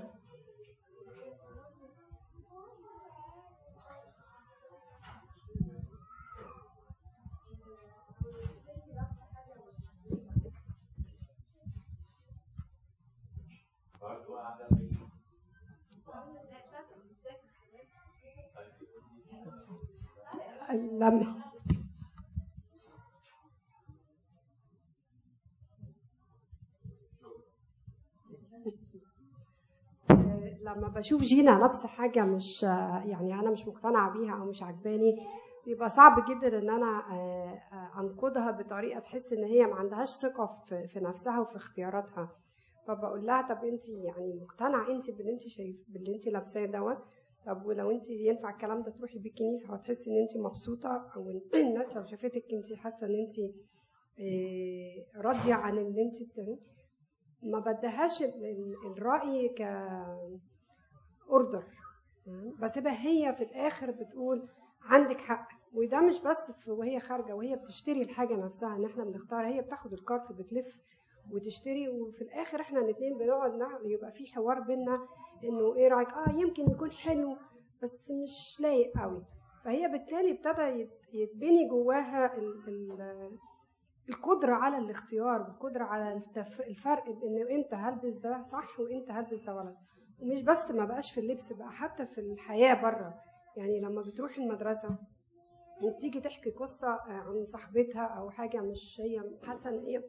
لما بشوف جينا لابسه حاجه مش يعني انا مش مقتنعه بيها او مش عجباني، بيبقى صعب جدا ان انا انقدها بطريقه تحس ان هي ما عندهاش ثقه في نفسها وفي اختياراتها. فبقول لها طب انت يعني مقتنعه انت باللي انت لابساه دوت؟ طب ولو انت ينفع الكلام ده تروحي بيه الكنيسه وتحسي ان انت مبسوطه، او الناس لو شافتك انت حاسه ان انت راضيه عن اللي انت بتعمليه، ما بدهاش الراي ك اوردر، بسيبها هي في الاخر بتقول عندك حق. وده مش بس وهي خارجه وهي بتشتري الحاجه نفسها ان احنا بنختار، هي بتاخد الكارت بتلف وتشتري، وفي الاخر احنا الاثنين بنقعد يبقى في حوار بينا انه ايه رايك، يمكن يكون حلو بس مش لايق قوي. فهي بالتالي ابتدى يتبني جواها القدره على الاختيار والقدره على الفرق بان امتى هلبس ده صح وامتى هلبس ده غلط. ومش بس ما بقاش في اللبس، بقى حتى في الحياه بره. يعني لما بتروح المدرسه وتيجي تحكي قصه عن صاحبتها او حاجه مش هي حاسه ان هي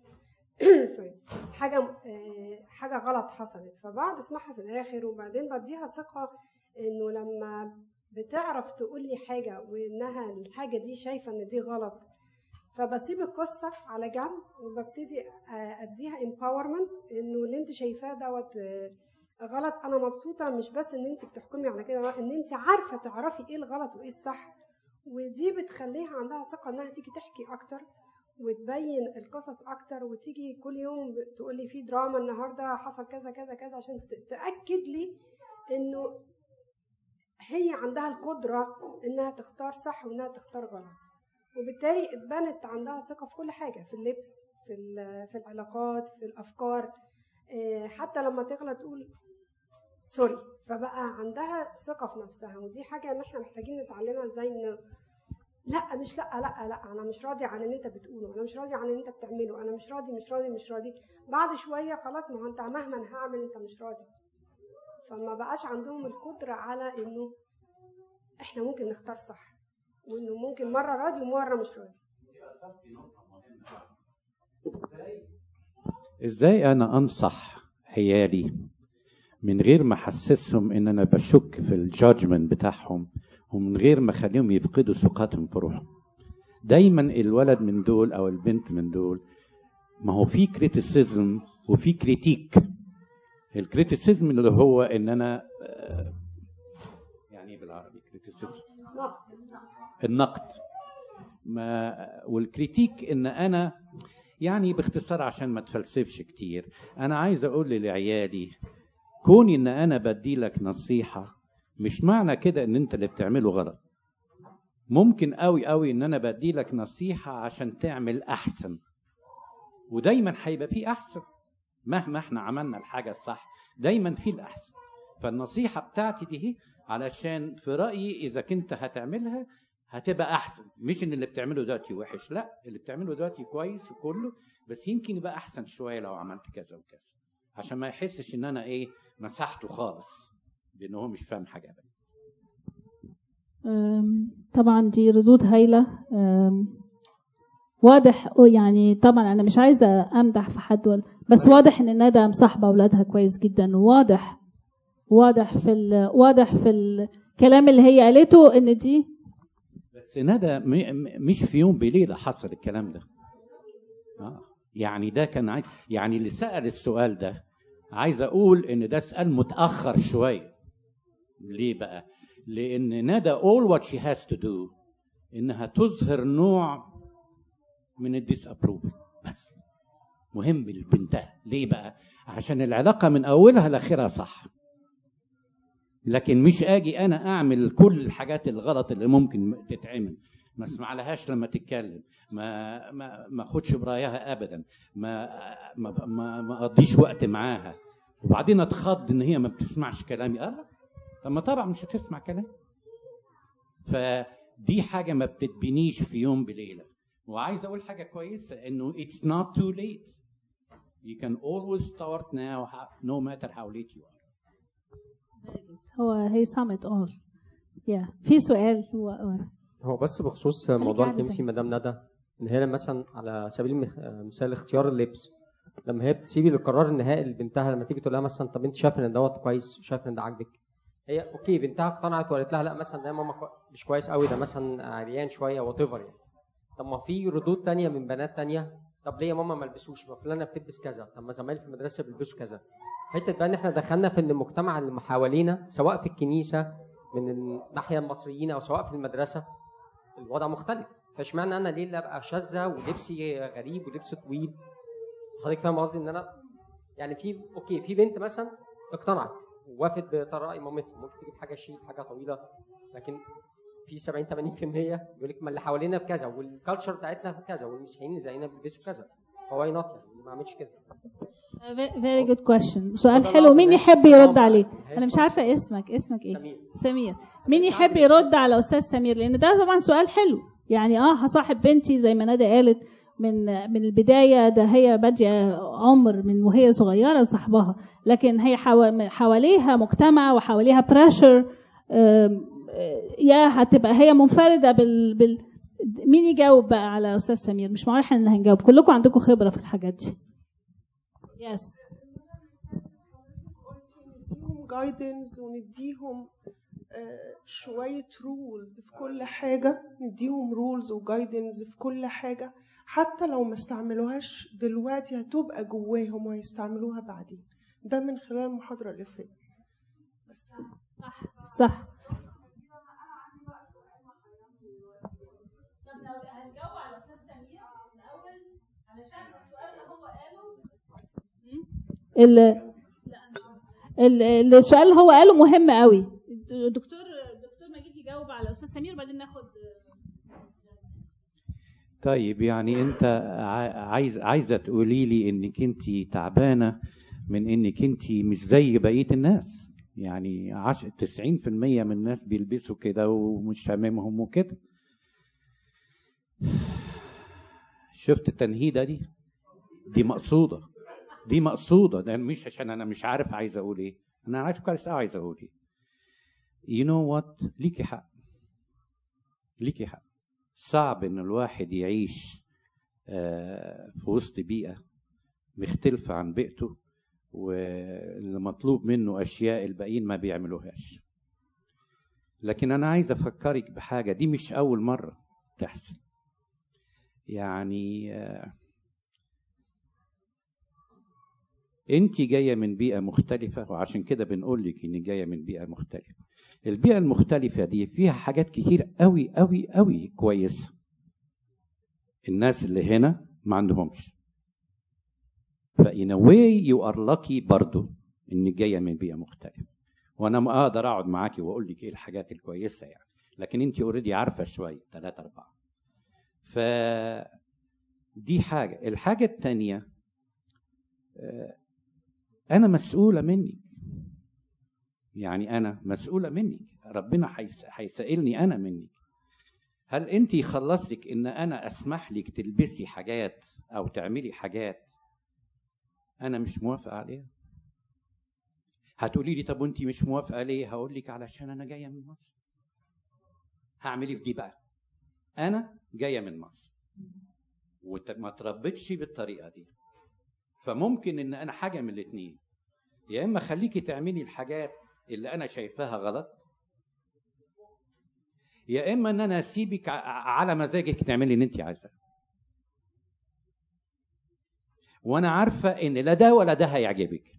حاجه غلط حصلت، فبقعد اسمعها في الاخر وبعدين بديها ثقه انه لما بتعرف تقول لي حاجه وانها الحاجه دي شايفه ان دي غلط، فبسيب القصه على جنب وببتدي اديها empowerment انه اللي انت شايفاه دوت غلط. انا مبسوطه مش بس ان انت بتحكمي على كده، ان انت عارفه تعرفي ايه الغلط وايه الصح. ودي بتخليها عندها ثقه انها تيجي تحكي اكتر وتبين القصص اكتر، وتيجي كل يوم تقولي في دراما النهارده حصل كذا كذا كذا، عشان تاكد لي انه هي عندها القدره انها تختار صح وانها تختار غلط. وبالتالي اتبنت عندها ثقه في كل حاجه، في اللبس، في العلاقات، في الافكار، حتى لما تغلط تقول سوري، فبقى عندها ثقه في نفسها. ودي حاجه ان احنا محتاجين نتعلمها ازاي، انه لا مش لا لا لا انا مش راضي عن اللي انت بتقوله، انا مش راضي عن اللي انت بتعمله، انا مش راضي مش راضي مش راضي. بعد شويه خلاص، ما هو انت مهما هعمل انت مش راضي. فما بقاش عندهم القدره على انه احنا ممكن نختار صح، وانه ممكن مره راضي ومره مش راضي. ازاي انا انصح عيالي من غير ما احسسهم ان انا بشك في الجادجمنت بتاعهم، ومن غير ما اخليهم يفقدوا ثقتهم في روحهم؟ دايما الولد من دول او البنت من دول، ما هو في كريتيسيزم وفي كريتيك. الكريتيسيزم اللي هو ان انا يعني بالعربي كريتيسيزم النقد، والكريتيك ان انا يعني باختصار عشان ما تفلسفش كتير، انا عايز اقول لعيالي كوني ان انا بدي لك نصيحه مش معنى كده ان انت اللي بتعمله غلط. ممكن قوي قوي ان انا بدي لك نصيحه عشان تعمل احسن، ودايما هيبقى فيه احسن مهما احنا عملنا الحاجه الصح، دايما فيه الاحسن. فالنصيحه بتاعتي دي علشان في رايي اذا كنت هتعملها هتبقى احسن، مش ان اللي بتعمله دلوقتي وحش، لا اللي بتعمله دلوقتي كويس وكله، بس يمكن يبقى احسن شويه لو عملت كذا وكذا، عشان ما يحسش ان انا مسحته خالص لانه هو مش فاهم حاجه ابدا. طبعا دي ردود هايله. واضح يعني، طبعا انا مش عايزه امدح في حد، بس واضح ان ندى مصاحبه اولادها كويس جدا، واضح في الكلام اللي هي قالته ان دي. بس ندى مش في يوم بليله حصل الكلام ده. يعني ده كان يعني اللي سأل السؤال ده عايز اقول ان ده سؤال متاخر شويه. ليه بقى؟ لان ندى all what she has to do انها تظهر نوع من الديسابروفل، بس مهم لبنتها. ليه بقى؟ عشان العلاقه من اولها لاخرها صح، لكن مش اجي انا اعمل كل الحاجات الغلط اللي ممكن تتعمل، ما اسمع لهاش لما تتكلم، ما اخدش برايها ابدا، ما اقضيش وقت معاها، وبعدين اتخض ان هي ما بتسمعش كلامي. لا، طب ما طبعا مش هتسمع كلامي. فدي حاجه ما بتتبنيش في يوم بليله. وعايز اقول حاجه كويسه، انه it's not too late. You can always start now no matter how late you are. هي سامت في سؤال هو بس بخصوص موضوع اللي فيه مدام ندى، ان هي مثلا على سبيل المثال اختيار اللبس، لما هي بتسيبي القرار النهائي لبنتها، لما تيجي تقول لها مثلا طب انت شايفه ان دوت كويس وشايفه ان ده عاجبك، هي اوكي بنتها اقتنعت وقالت لها لا مثلا ده ماما مش كويس قوي، ده مثلا عريان شويه وات ايفر يعني. طب ما في ردود تانية من بنات تانية، طب ليه يا ماما ما البسوش؟ ما فلانه بتلبس كذا، طب ما زمايلي في المدرسه بيلبسوا كذا. حته بقى ان احنا دخلنا في ان المجتمع اللي حوالينا سواء في الكنيسه من الناحيه المصريين او سواء في المدرسه الوضع مختلف. فاشمعنى انا ليه اللي ابقى شاذه ولبسي غريب ولبسي طويل؟ حضرتك فاهم قصدي؟ ان انا يعني في بنت مثلا اقتنعت ووافت براي مامتها، ممكن تجيب حاجه شيك حاجه طويله، لكن في 70-80% يقول لك ما اللي حوالينا بكذا والكالتشر بتاعتنا كذا والمسيحيين زينا بيلبسوا كذا، فواي نوت يعني ما اعملش كده. Very good question. سؤال حلو. مين يحب يرد عليه؟ انا مش عارفه اسمك ايه؟ سمير. مين يحب يرد على استاذ سمير؟ لان ده طبعا سؤال حلو. يعني هصاحب بنتي زي ما ندى قالت من البدايه، ده هي باديه عمر من وهي صغيره صاحبها، لكن هي حواليها مجتمع وحواليها بريشر، يا هتبقى هي منفرده مين يجاوب بقى على استاذ سمير؟ مش معقول احنا اللي هنجاوب، كلكم عندكم خبره في الحاجات دي. يس. نديهم جايدنس ونديهم شويه رولز في كل حاجه، نديهم رولز وجايدنس في كل حاجه، حتى لو ما استعملوهاش دلوقتي هتبقى جواهم وهيستعملوها بعدين. ده من خلال المحاضره اللي فاتت. بس صح. هنجاوب على استاذ سمير الاول علشان السؤال اللي هو قاله السؤال اللي هو قاله مهم قوي. دكتور مجيد يجاوب على استاذ سمير، بعدين ناخد. طيب يعني انت عايزه تقولي لي انك انت تعبانه من انك انت مش زي بقيه الناس، يعني 90% من الناس بيلبسوا كده ومش هاممهم وكده. شفت التنهيده دي مقصوده، ده مش عشان انا مش عارف عايز اقول ايه، انا عارف كويس عايز اقول ايه. you know what، ليكي حق. صعب ان الواحد يعيش في وسط بيئه مختلفه عن بيئته واللي مطلوب منه اشياء الباقيين ما بيعملوهاش. لكن انا عايز افكرك بحاجه، دي مش اول مره تحصل. يعني انت جايه من بيئه مختلفه، وعشان كده بنقول لك انك جايه من بيئه مختلفه. البيئه المختلفه دي فيها حاجات كتير قوي قوي قوي كويسه الناس اللي هنا ما عندهمش. فإن a way you are lucky برضو انك جايه من بيئه مختلفه، وانا ما اقدر اقعد معاكي واقول لك ايه الحاجات الكويسه يعني، لكن انت اوريدي عارفه شويه 3-4. فدي حاجه. الحاجه الثانيه، انا مسؤوله منك، يعني انا مسؤوله منك، ربنا هيسائلني انا منك. هل انت خلصتك ان انا اسمح لك تلبسي حاجات او تعملي حاجات انا مش موافقه عليها؟ هتقولي لي طب وانت مش موافقه ليه؟ هقول لك علشان انا جايه من مصر. هعمل ايه في دي بقى؟ انا جايه من مصر وما تربيتش بالطريقه دي، فممكن ان انا حاجه من الاثنين، يا اما خليكي تعملي الحاجات اللي انا شايفاها غلط، يا اما ان انا اسيبك على مزاجك تعملي اللي انت عايزاه. وانا عارفه ان لا ده ولا ده هيعجبك.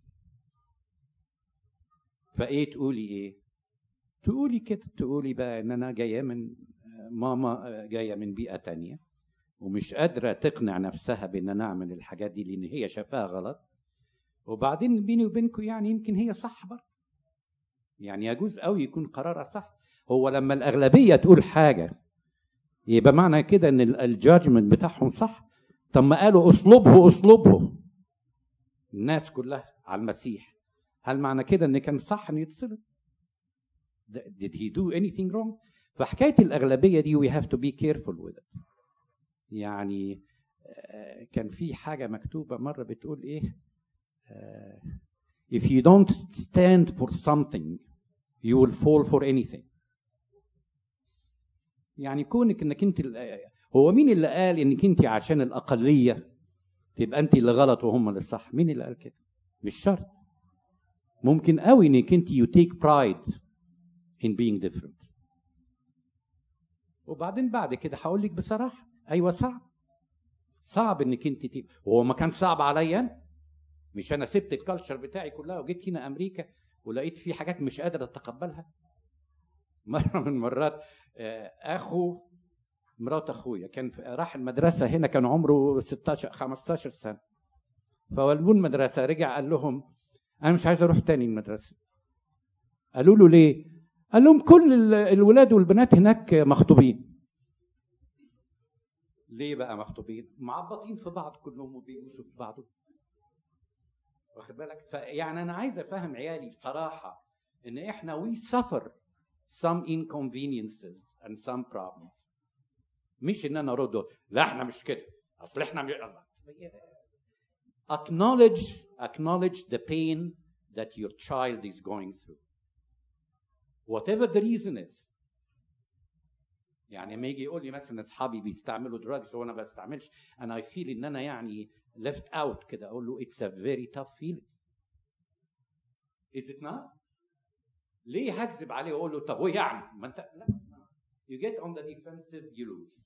فايه تقولي ايه؟ تقولي كده، تقولي بقى ان انا جايه من ماما، جايه من بيئه تانية ومش قادره تقنع نفسها بان انا اعمل الحاجات دي لان هي شافاها غلط. وبعدين بيني وبينكم يعني يمكن هي صح برضه، يعني يجوز قوي يكون قرارها صح. هو لما الاغلبيه تقول حاجه يبقى معنى كده ان الجادجمنت بتاعهم صح؟ طب ما قالوا اسلوبه الناس كلها على المسيح، هل معنى كده ان كان صح انه يتصلب؟ did he do anything wrong؟ فحكايه الاغلبيه دي we have to be careful with it. يعني كان في حاجه مكتوبه مره بتقول ايه، if you don't stand for something you will fall for anything. يعني كونك انك انت، هو مين اللي قال انك انت عشان الاقليه تبقى انت اللي غلط وهم اللي صح؟ مين اللي قال كده؟ مش شرط. ممكن قوي انك انت you take pride in being different. وبعدين بعد كده هقول لك بصراحه، ايوه صعب انك انت هو ما كان صعب عليا؟ مش انا سبت الكالتشر بتاعي كلها وجيت هنا امريكا ولقيت في حاجات مش قادر اتقبلها. مره من المرات اخو مرات اخويا كان راح المدرسه هنا، كان عمره 16 15 سنه، فولدوه المدرسه، رجع قال لهم انا مش عايز اروح تاني المدرسه. قالوا له ليه؟ قال لهم كل الولاد والبنات هناك مخطوبين. ليه بقى مخطوبين؟ معبطين في بعض كلهم وبيبوسوا في بعض، واخد بالك؟ يعني انا عايز افهم عيالي بصراحه ان احنا we suffer some inconveniences and some problems. مش ان انا ارد لا احنا مش كده، اصل احنا acknowledge the pain that your child is going through whatever the reason is. يعني لما يجي يقول لي مثلا اصحابي بيستعملوا drugs وانا ما بستعملش، انا I feel ان انا يعني left out كده، اقول له it's a very tough feeling. Is it not؟ ليه هكذب عليه واقول له طب هو يعني ما انت لا، you get on the defensive you lose.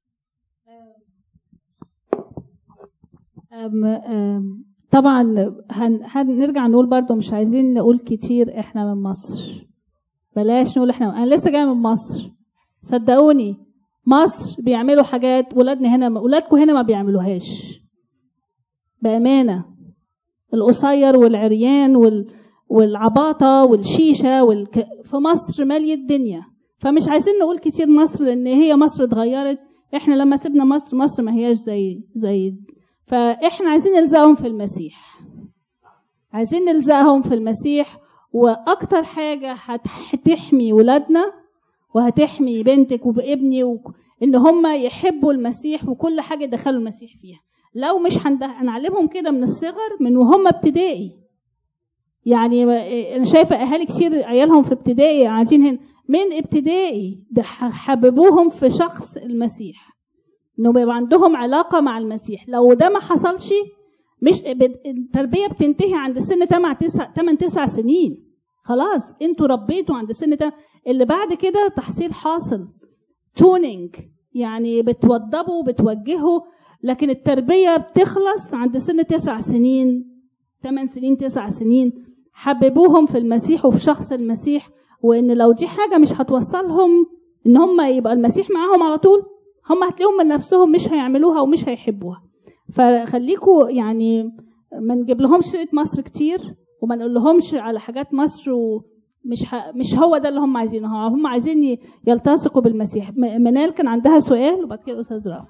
طبعا هنرجع نقول برضو مش عايزين نقول كتير احنا من مصر، بلاش نقول احنا، انا لسه جايه من مصر، صدقوني مصر بيعملوا حاجات ولادنا هنا، ولادكم هنا ما بيعملوهاش بامانه. القصير والعريان والعباطه والشيشه في مصر ماليه الدنيا. فمش عايزين نقول كتير مصر لان هي مصر اتغيرت. احنا لما سيبنا مصر ما هياش زي فاحنا عايزين نلزقهم في المسيح، عايزين نلزقهم في المسيح. واكتر حاجه هتحمي ولادنا وهتحمي بنتك وابني ان هم يحبوا المسيح وكل حاجه يدخلوا المسيح فيها. لو مش هنعلمهم كده من الصغر من وهم ابتدائي، يعني انا شايفه اهالي كتير عيالهم في ابتدائي قاعدين هنا من ابتدائي، ده حببوهم في شخص المسيح، انه يبقى عندهم علاقه مع المسيح. لو ده ما حصلش، مش التربيه بتنتهي عند سن 8-9 سنين، خلاص انتوا ربيتوا عند سن اللي بعد كده تحصيل حاصل، تونينج، يعني بتوضبوا وبتوجهوا. لكن التربيه بتخلص عند سن 9 سنين 8 سنين 9 سنين. حببوهم في المسيح وفي شخص المسيح، وان لو دي حاجه مش هتوصلهم ان هم يبقى المسيح معاهم على طول، هم هتلاقيهم من نفسهم مش هيعملوها ومش هيحبوها. فخليكوا يعني ما نجيب لهمش سيره مصر كتير وما نقول لهمش على حاجات مصر، مش هو ده اللي هم عايزينه. هم عايزين يلتصقوا بالمسيح. منال كان عندها سؤال وبعد كده استاذ رافع.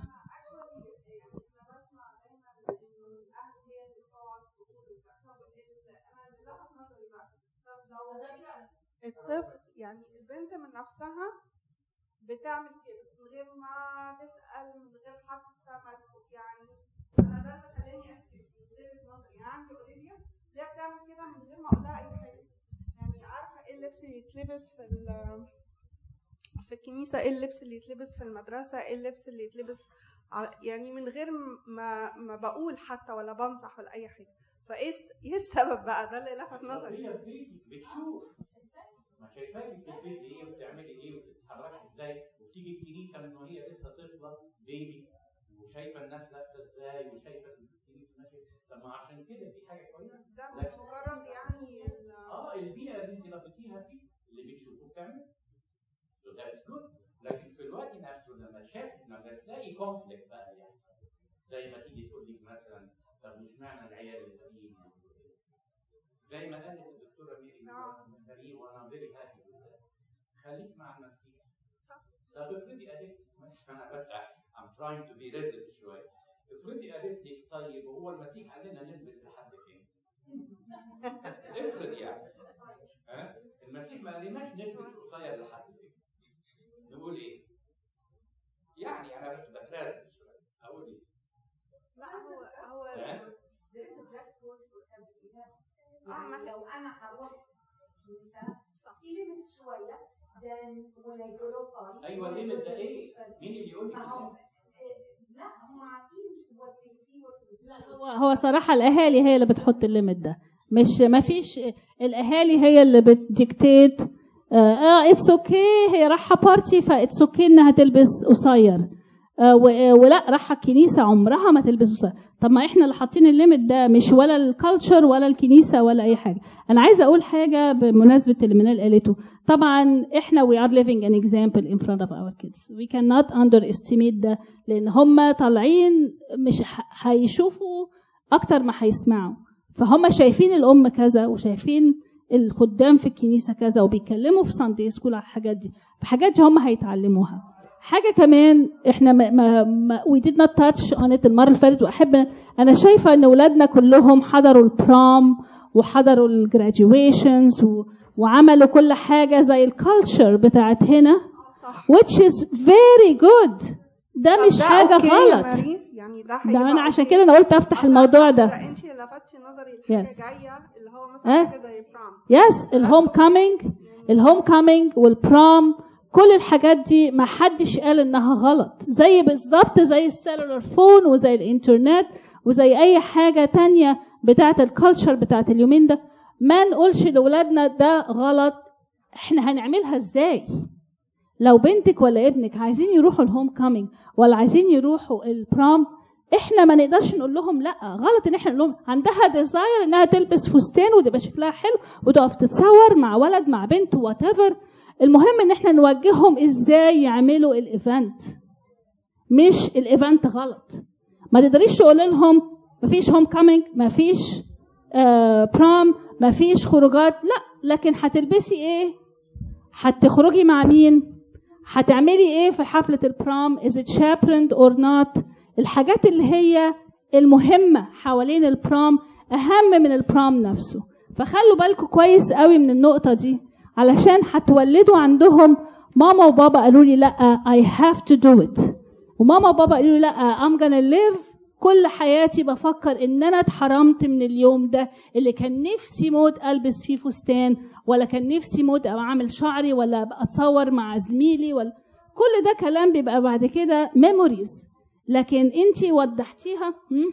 الطفل يعني البنت من نفسها بتعمل كده من غير ما تسأل، من غير حتى ما يعني انا ده اللي خلاني اكتب وزيرة نظري. يعني عندي اولivia اللي هي بتعمل كده من غير ما اقول لها اي حاجه. يعني عارفه ايه اللبس اللي يتلبس في الكنيسه، ايه اللبس اللي يتلبس في المدرسه، ايه اللبس اللي يتلبس يعني من غير ما بقول حتى ولا بنصح ولا اي حاجه. فايه السبب بقى؟ ده اللي لفت نظري. بتشوف ما شايفاكي بتلبسي ايه وبتعملي ايه وبتتحركي ازاي، وتيجي الكنيسه من وهي لسه طفله بيبي وشايفه الناس لابسه ازاي وشايفه الكنيسه ماشيه. طب ما عشان كده دي حاجه كويسه، ده مش مجرد يعني البيئه اللي انت ربيتيها فيه اللي بتشوفه بتعمل so that's good. لكن في الوقت نفسه لما تلاقي كونفليكت بقى يحصل، زي ما تيجي تقول لي مثلا طب مش معنى العيال الباقيين زي ما قالت الدكتوره ميري وانا فيري هابي خليك مع المسيح. طب افرضي قالت انا بس I'm trying to be reasonable شويه، افرضي قالت لك طيب هو المسيح قال لنا نلبس لحد فين؟ افرض يعني المسيح ما قالناش نلبس قصير لحد فين؟ نقول ايه؟ يعني انا بس بترازل شويه اقول ايه؟ لا هو لو انا هروح كنيسه في ليميت شويه then when I go to party. ايوه الليميت ده ايه؟ مين اللي يقول لي لا هم عارفين what they see what هو صراحه الاهالي هي اللي بتحط الليميت ده، مش ما فيش الاهالي هي اللي بتديكتيت اتس اوكي هي رايحه بارتي فاتس اوكي انها تلبس قصير. ولا راح الكنيسه عمرها ما تلبس قصير. طب ما احنا اللي حاطين الليميت ده، مش ولا الكالتشر ولا الكنيسه ولا اي حاجه. انا عايزه اقول حاجه بمناسبه اللي منال قالته. طبعا احنا we are living an example in front of our kids. We cannot underestimate ده، لان هم طالعين مش هيشوفوا اكتر ما هيسمعوا، فهم شايفين الام كذا وشايفين الخدام في الكنيسه كذا وبيتكلموا في ساندي سكول على الحاجات دي، فحاجات دي هم هيتعلموها. حاجه كمان احنا we did not touch on it المره اللي فاتت، واحب انا شايفه ان اولادنا كلهم حضروا البرام وحضروا الجراديويشنز وعملوا كل حاجه زي الكالتشر بتاعت هنا which is very good. ده مش حاجه غلط يعني. ده انا عشان كده انا قلت افتح الموضوع ده. انت لفتتي نظري لحاجه جايه اللي هو مثلا حاجه زي برام. يس الهوم كامينج والبرام، كل الحاجات دي ما حدش قال انها غلط، زي بالظبط زي السيلولار فون وزي الانترنت وزي اي حاجه تانية بتاعه الكالتشر بتاعه اليومين ده. ما نقولش لاولادنا ده غلط. احنا هنعملها ازاي؟ لو بنتك ولا ابنك عايزين يروحوا الهوم كامينج ولا عايزين يروحوا البرام، احنا ما نقدرش نقول لهم لا. غلط ان احنا نقول لهم عندها ديزاير انها تلبس فستان وتبقى شكلها حلو وتقف تتصور مع ولد مع بنت وات ايفر. المهم ان احنا نوجههم ازاي يعملوا الايفنت، مش الايفنت غلط. ما تقدريش تقول لهم مفيش هوم كامينج، مفيش برام، مفيش خروجات، لا. لكن هتلبسي ايه؟ هتخرجي مع مين؟ هتعملي ايه في حفله البرام؟ is it chaperoned or not؟ الحاجات اللي هي المهمه حوالين البرام اهم من البرام نفسه. فخلوا بالكم كويس قوي من النقطه دي، علشان هتولدوا عندهم ماما وبابا قالوا لي لا I have to do it، وماما وبابا قالوا لي لا I'm gonna live كل حياتي بفكر ان انا اتحرمت من اليوم ده اللي كان نفسي موت البس فيه فستان، ولا كان نفسي موت اعمل شعري، ولا اتصور مع زميلي، ولا كل ده كلام بيبقى بعد كده ميموريز. لكن انتي وضحتيها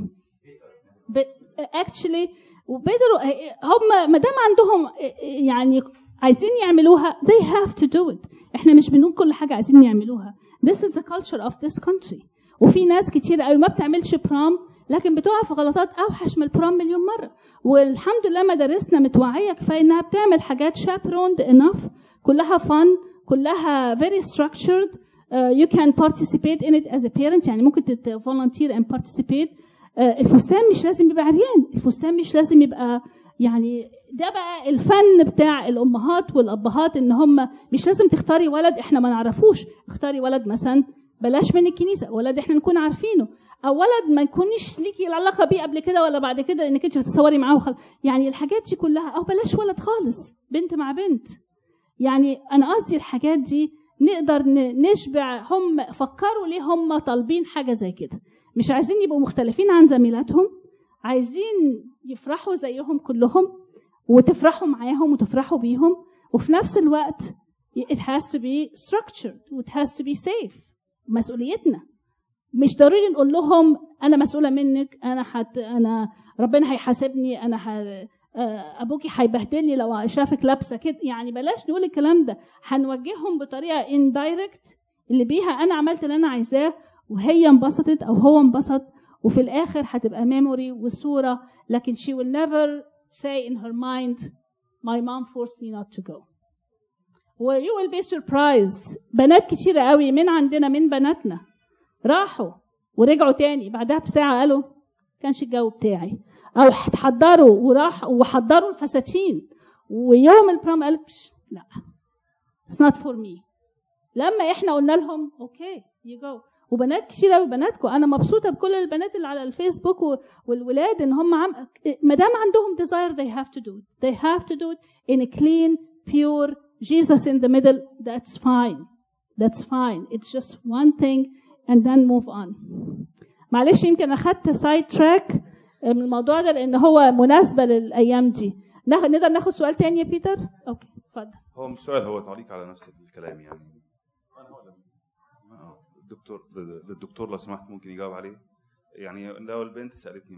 actually وبدروا هم ما دام عندهم يعني عايزين يعملوها they have to do it. احنا مش بنقول كل حاجه عايزين يعملوها. this is the culture of this country. وفي ناس كتير قوي ما بتعملش برام لكن بتقع في غلطات اوحش من البرام مليون مره، والحمد لله مدارسنا متوعيه كفايه انها بتعمل حاجات chaperoned enough، كلها fun، كلها very structured. You can participate in it as a parent، يعني ممكن volunteer and participate. الفستان مش لازم يبقى عريان، الفستان مش لازم يبقى يعني ده بقى الفن بتاع الامهات والابهات، ان هم مش لازم تختاري ولد احنا ما نعرفوش، اختاري ولد مثلا بلاش من الكنيسه، ولد احنا نكون عارفينه، او ولد ما يكونش ليكي العلاقه بيه قبل كده ولا بعد كده لانك انت هتصوري معاه يعني الحاجات دي كلها، او بلاش ولد خالص، بنت مع بنت. يعني انا قصدي الحاجات دي نقدر نشبع. هم فكروا ليه هم طالبين حاجه زي كده؟ مش عايزين يبقوا مختلفين عن زميلاتهم، عايزين يفرحوا زيهم كلهم وتفرحوا معاهم وتفرحوا بيهم، وفي نفس الوقت it has to be structured و it has to be safe. مسؤوليتنا مش ضروري نقول لهم انا مسؤوله منك، انا ربنا هيحاسبني، ابوكي هيبهدلني لو شافك لابسه كده. يعني بلاش نقول الكلام ده، هنوجههم بطريقه indirect اللي بيها انا عملت اللي انا عايزاه وهي انبسطت او هو انبسط، وفي الاخر هتبقى ميموري وصوره، لكن she will never say in her mind my mom forced me not to go. و you will be surprised. بنات كتيره قوي من عندنا من بناتنا راحوا ورجعوا تاني بعدها بساعه قالوا كانش الجو بتاعي، او اتحضروا وراح وحضروا الفساتين ويوم البروم قالت لا it's not for me. لما احنا قلنا لهم اوكي you go. وبنات كتير قوي بناتكم، انا مبسوطه بكل البنات اللي على الفيسبوك والولاد ان هم ما دام عندهم desire they have to do it. They have to do it in a clean pure Jesus in the middle. That's fine. It's just one thing and then move on. معلش يمكن اخدت سايد تراك من الموضوع ده لان هو مناسبه للايام دي. نقدر ناخد سؤال تاني يا بيتر؟ اوكي اتفضل. هو مش سؤال، هو تعليق على نفس الكلام. يعني الدكتور لو سمحت ممكن يجاوب عليه. يعني لو البنت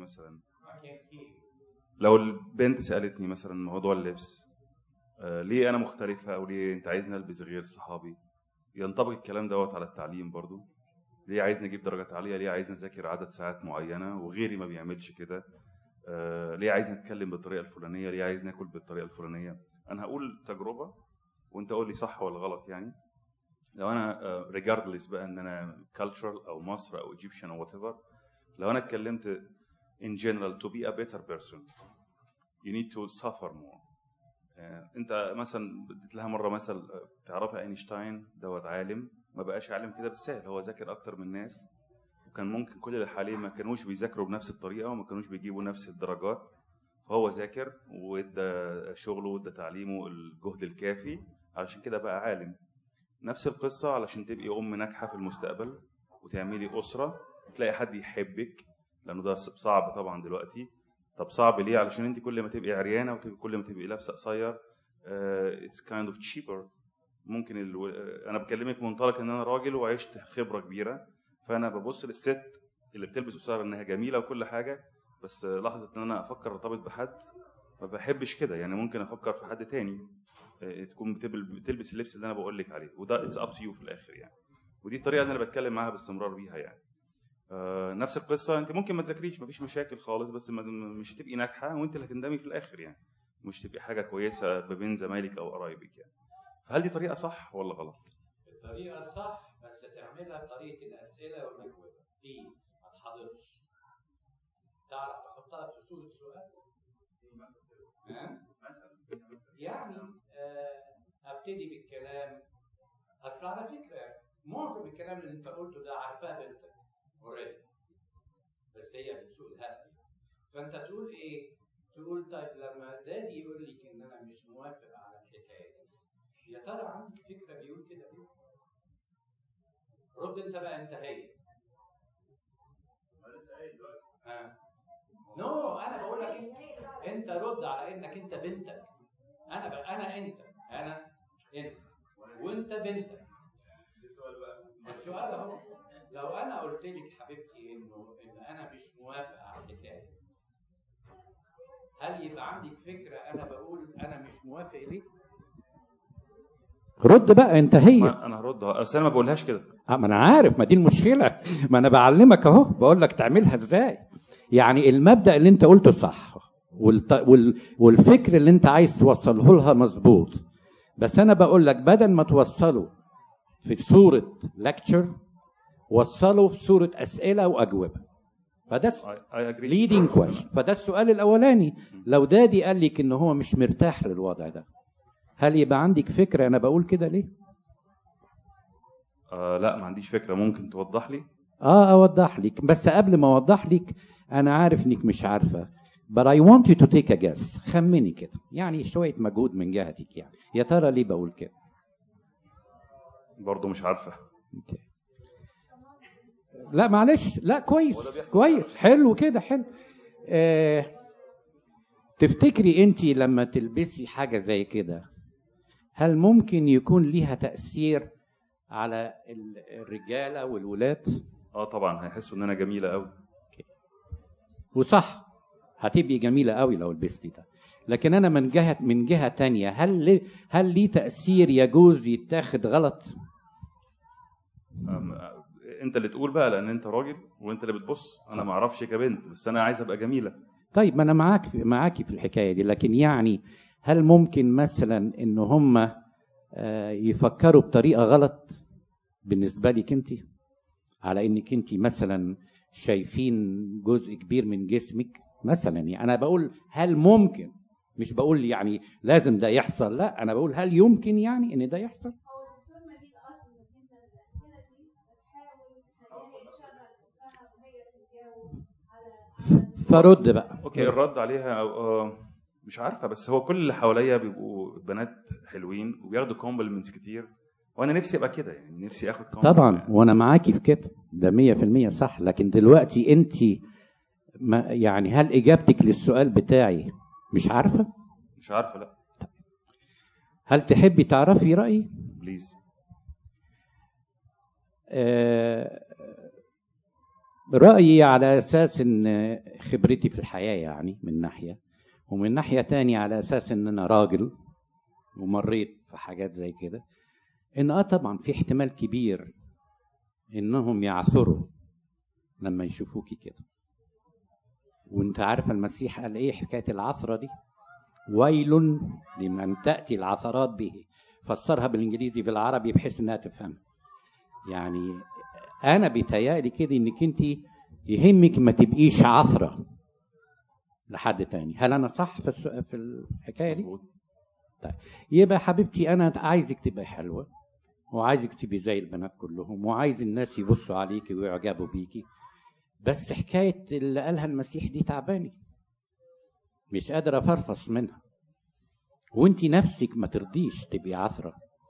سألتني مثلا موضوع اللبس، ليه انا مختلفه او ليه انت عايزني البس غير صحابي، ينطبق الكلام دوت على التعليم برضو. ليه عايزني اجيب درجات عاليه؟ ليه عايزني اذاكر عدد ساعات معينه وغيري ما بيعملش كده؟ ليه عايزني اتكلم بالطريقه الفلانيه؟ ليه عايزني اكل بالطريقه الفلانيه؟ انا هقول تجربه وانت قول لي صح ولا غلط. يعني لو انا regardless بقى ان انا cultural او مصر او Egyptian او whatever، لو انا اتكلمت in general to be a better person you need to suffer more. انت مثلا اديت لها مره مثل، تعرفي اينشتاين دوت عالم ما بقاش عالم كده بالسهل، هو ذاكر اكتر من الناس، وكان ممكن كل اللي حواليه ما كانوش بيذاكروا بنفس الطريقه وما كانوش بيجيبوا نفس الدرجات، فهو ذاكر وادى شغله وادى تعليمه الجهد الكافي علشان كده بقى عالم. نفس القصه علشان تبقي ام ناجحه في المستقبل وتعملي اسره تلاقي حد يحبك، لانه ده صعب طبعا دلوقتي. طب صعب ليه؟ علشان انت كل ما تبقي عريانه وكل ما تبقي لابسه قصير it's kind of cheaper. ممكن انا بكلمك منطلق ان انا راجل وعشت خبره كبيره، فانا ببص للست اللي بتلبس قصير انها جميله وكل حاجه، بس لحظه ان انا افكر ارتبط بحد ما بحبش كده. يعني ممكن افكر في حد تاني تكون بتلبس اللبس اللي انا بقول لك عليه، وده اتس اب تو يو في الاخر يعني. ودي الطريقه اللي انا بتكلم معاها باستمرار بيها يعني. نفس القصه، انت ممكن ما تذاكريش مفيش مشاكل خالص، بس مش هتبقي ناجحه وانت اللي هتندمي في الاخر يعني، مش تبقي حاجه كويسه ما بين زمايلك او قرايبك يعني. فهل دي طريقه صح ولا غلط؟ الطريقه صح، بس تعملها بطريقه الاسئله والاجوبه. بليز ما تحضرش، تعرف تحطها في صوره سؤال يعني ابتدي بالكلام. اصل على فكره معظم الكلام اللي انت قلته ده عارفاه بنتك اوريدي، بس هي بتسوق الهبل. فانت تقول ايه؟ تقول طيب لما دادي يقول لك ان انا مش موافق على الحكايه دي، يا ترى عندك فكره بيقول كده ليه؟ رد انت بقى، انت هي. نو انا بقول لك انت رد على انك انت بنتك. انا انت وانت بنتك. السؤال اهو، لو انا قلت لك حبيبتي ان انا مش موافق على الحكايه، هل يبقى عندك فكره انا بقول انا مش موافق ليه؟ رد بقى انت هي. انا هرد بس انا ما بقولهاش كده. ما انا عارف، ما دي المشكله، ما انا بعلمك اهو، بقول لك تعملها ازاي. يعني المبدا اللي انت قلته صح والفكر اللي انت عايز توصله لها مظبوط، بس انا بقول لك بدل ما توصله في صوره لكتشر وصله في صوره اسئله واجوبه. فده leading question. فده السؤال الاولاني. لو دادي قال لك ان هو مش مرتاح للوضع ده، هل يبقى عندك فكره انا بقول كده ليه؟ لا ما عنديش فكره. ممكن توضح لي؟ اوضح لك، بس قبل ما اوضح لك انا عارف انك مش عارفه، but I want you to take a guess. خمني كده، يعني شويه مجهود من جهتك. يعني يا ترى ليه بقول كده؟ برضه مش عارفه. اوكي. لا معلش، لا كويس حلو كده حلو. تفتكري انت لما تلبسي حاجه زي كده هل ممكن يكون ليها تأثير على الرجاله والولاد؟ طبعا هيحسوا ان انا جميله قوي. وصح، هتبقي جميله قوي لو لبستي ده. لكن انا من جهه تانية، هل ليه تأثير يجوز يتاخد غلط؟ انت اللي تقول بقى، لان انت راجل وانت اللي بتبص. انا ما اعرفش كبنت، بس انا عايز ابقى جميله. طيب ما انا معاكي في الحكايه دي، لكن يعني هل ممكن مثلا ان هم يفكروا بطريقه غلط بالنسبه لك انت، على انك انت مثلا شايفين جزء كبير من جسمك مثلا؟ يعني انا بقول هل ممكن، مش بقول يعني لازم ده يحصل، لا انا بقول هل يمكن يعني ان ده يحصل. فرد بقى. اوكي، الرد عليها مش عارفه، بس هو كل اللي حواليا بيبقوا بنات حلوين وبياخدوا كومبلمنتس كتير، وانا نفسي ابقى كده، يعني نفسي اخد طبعا يعني. وانا معاكي في كده، ده 100% صح. لكن دلوقتي انت يعني هل اجابتك للسؤال بتاعي مش عارفه؟ مش عارفه، لا. هل تحبي تعرفي رايي؟ بليز. رأيي على أساس إن خبرتي في الحياة يعني من ناحية، ومن ناحية تانية على أساس إن أنا راجل ومريت في حاجات زي كده، إن طبعا في احتمال كبير انهم يعثروا لما يشوفوكي كده. وانت عارفه المسيح قال ايه حكايه العثره دي؟ ويل لمن تاتي العثرات به. فسرها بالانجليزي بالعربي بحيث انها تفهم. يعني انا بيتهيألي كده انك انت يهمك ما تبقيش عثره لحد تاني. هل انا صح في الحكايه دي؟ طيب يبقى حبيبتي انا عايزك تبقى حلوه، وعايزك تبقي زي البنات كلهم، وعايز الناس يبصوا عليكي ويعجبوا بيكي. بس حكايه اللي قالها المسيح دي تعباني، مش قادر افرفص منها. وانت نفسك ما ترضيش تبقي عثره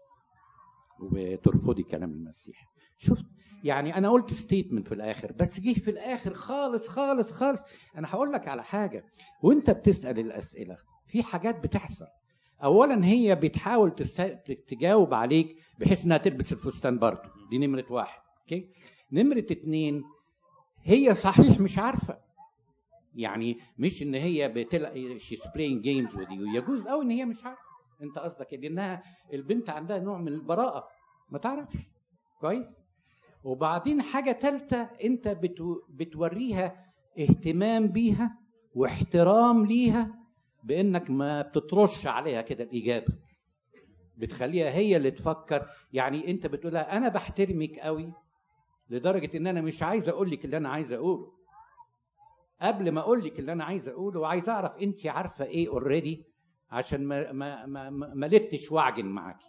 وترفضي كلام المسيح. شفت يعني انا قلت ستيتمنت في الاخر، بس جه في الاخر خالص خالص خالص انا هقول لك على حاجه. وانت بتسال الاسئله في حاجات بتحصل. اولا هي بتحاول تجاوب عليك بحيث انها تلبس الفستان برضه، دي نمره واحد. اوكي، نمره اتنين هي صحيح مش عارفه، يعني مش ان هي شي's playing games with you. يجوز قوي ان هي مش عارفه. انت قصدك انها البنت عندها نوع من البراءه ما تعرفش كويس. وبعدين حاجه ثالثه، انت بتوريها اهتمام بيها واحترام ليها بانك ما بتطرش عليها كده الاجابه، بتخليها هي اللي تفكر. يعني انت بتقولها انا بحترمك قوي لدرجه ان انا مش عايز اقول لك اللي انا عايز اقوله. قبل ما اقول لك اللي انا عايز اقوله وعايز اعرف انت عارفه ايه اوريدي، عشان ما لتش واعجن معاكي.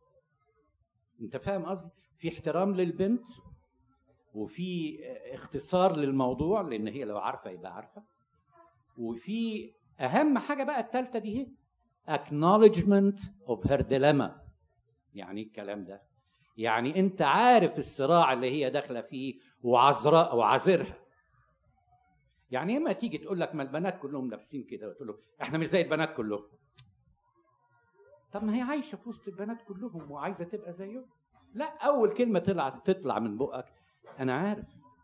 انت فاهم قصدي؟ في احترام للبنت، وفي اختصار للموضوع لان هي لو عارفه يبقى عارفه، وفي اهم حاجه بقى الثالثه دي هي acknowledgement of her dilemma. يعني الكلام ده يعني انت عارف الصراع اللي هي داخله فيه وعذرها. يعني اما تيجي تقول لك ما البنات كلهم لابسين كده وتقول له احنا مش زي البنات كلهم، طب ما هي عايشه في وسط البنات كلهم وعايزه تبقى زيهم. لا، اول كلمه تطلع من بقك انا عارف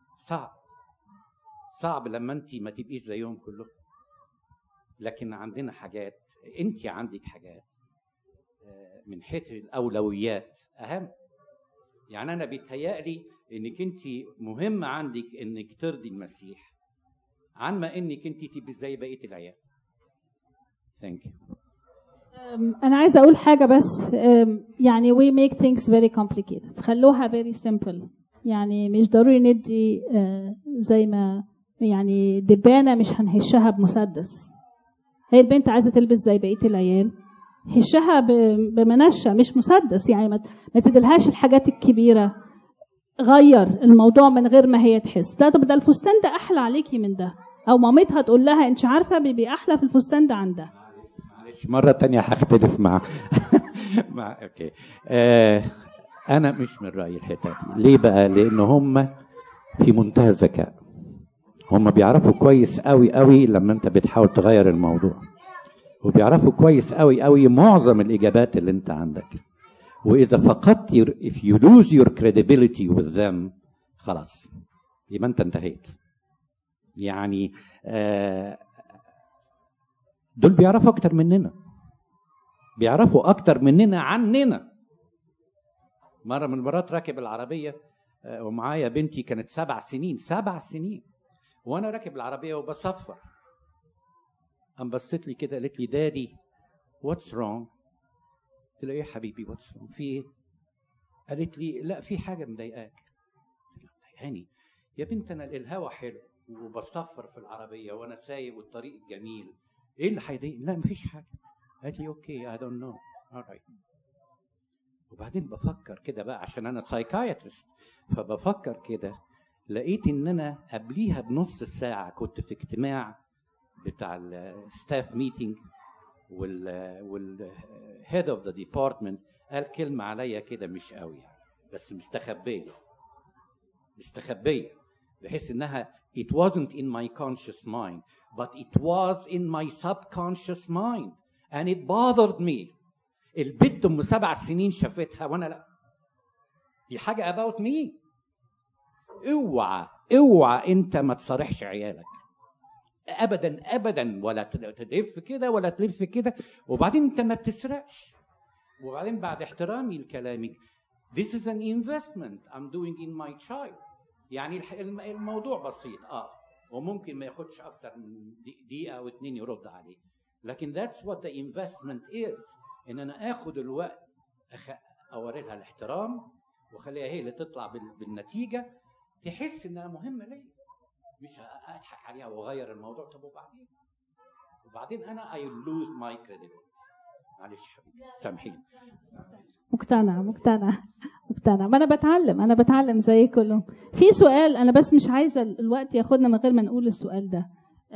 صعب لما انت ما تبقيش زيهم كلهم، لكن عندنا حاجات، انت عندك حاجات من حيث الاولويات اهم. يعني انا بيتهيألي انك انت مهم عندك انك ترضي المسيح عن ما انك انت تبقي زي بقيه العيال. ثانك يو. انا عايزه اقول حاجه بس. يعني we make things very complicated، خلوها very simple. يعني مش ضروري ندي زي ما يعني دبانه مش هنهشها بمسدس. هي البنت عايزه تلبس زي بقيه العيال، هشها بمنشه مش مسدس. يعني ما تدلهاش الحاجات الكبيره، غير الموضوع من غير ما هي تحس. ده الفستان ده احلى عليكي من ده، او مامتها تقول لها انت عارفه بيبي احلى في الفستان ده عن ده. معلش مره تانية هختلف مع اوكي. انا مش من رايي الحته دي. ليه بقى؟ لان هم في منتهى الذكاء، هم بيعرفوا كويس قوي قوي لما انت بتحاول تغير الموضوع، وبيعرفوا كويس قوي قوي معظم الاجابات اللي انت عندك. واذا فقدت if you lose your credibility with them خلاص يبقى انت انتهيت. يعني دول بيعرفوا اكتر مننا، بيعرفوا اكتر مننا عننا. مره من المرات راكب العربيه ومعايا بنتي كانت 7 سنين، وانا راكب العربيه وبصفر، قام بصت لي كده قالت لي دادي واتس رونج. قلت لها ايه يا حبيبي واتس رونج، في ايه؟ قالت لي لا في حاجه مضايقاك. مضايقاني يا بنت؟ انا الهوا حلو وبصفر في العربيه وانا سايق والطريق جميل، ايه اللي هيضايقني؟ لا مفيش حاجه. قالت لي اوكي اي دونت نو alright. وبعدين بفكر كده بقى عشان انا سايكايترست، فبفكر كده لقيت ان انا قبليها بنص ساعه كنت في اجتماع بتاع الستاف ميتنج، والهيد اوف ذا ديبارتمنت قال كلمه عليا كده مش قوي يعني، بس مستخبيه بحيث انها it wasn't in my conscious mind but it was in my subconscious mind and it bothered me. البنت ام 7 سنين شافتها وانا لا، دي حاجه about me. اوعى انت ما تصارحش عيالك ابدا ولا تلف كده ولا تلف كده. وبعدين انت ما بتسرقش. وبعدين بعد احترامي لكلامك This is an investment I'm doing in my child. يعني الموضوع بسيط وممكن ما ياخدش اكتر من دقيقه او 2 يرد عليه، لكن that's what the investment is. ان انا اخد الوقت اوري لها الاحترام واخليها هي اللي تطلع بالنتيجه، تحس انها مهمه ليا، مش اضحك عليها واغير الموضوع. طب وبعدين انا I lose my credibility. معلش حبيبي سامحيني. مقتنعه ما انا بتعلم زي كلهم. في سؤال انا بس مش عايزه الوقت ياخدنا من غير ما نقول السؤال ده.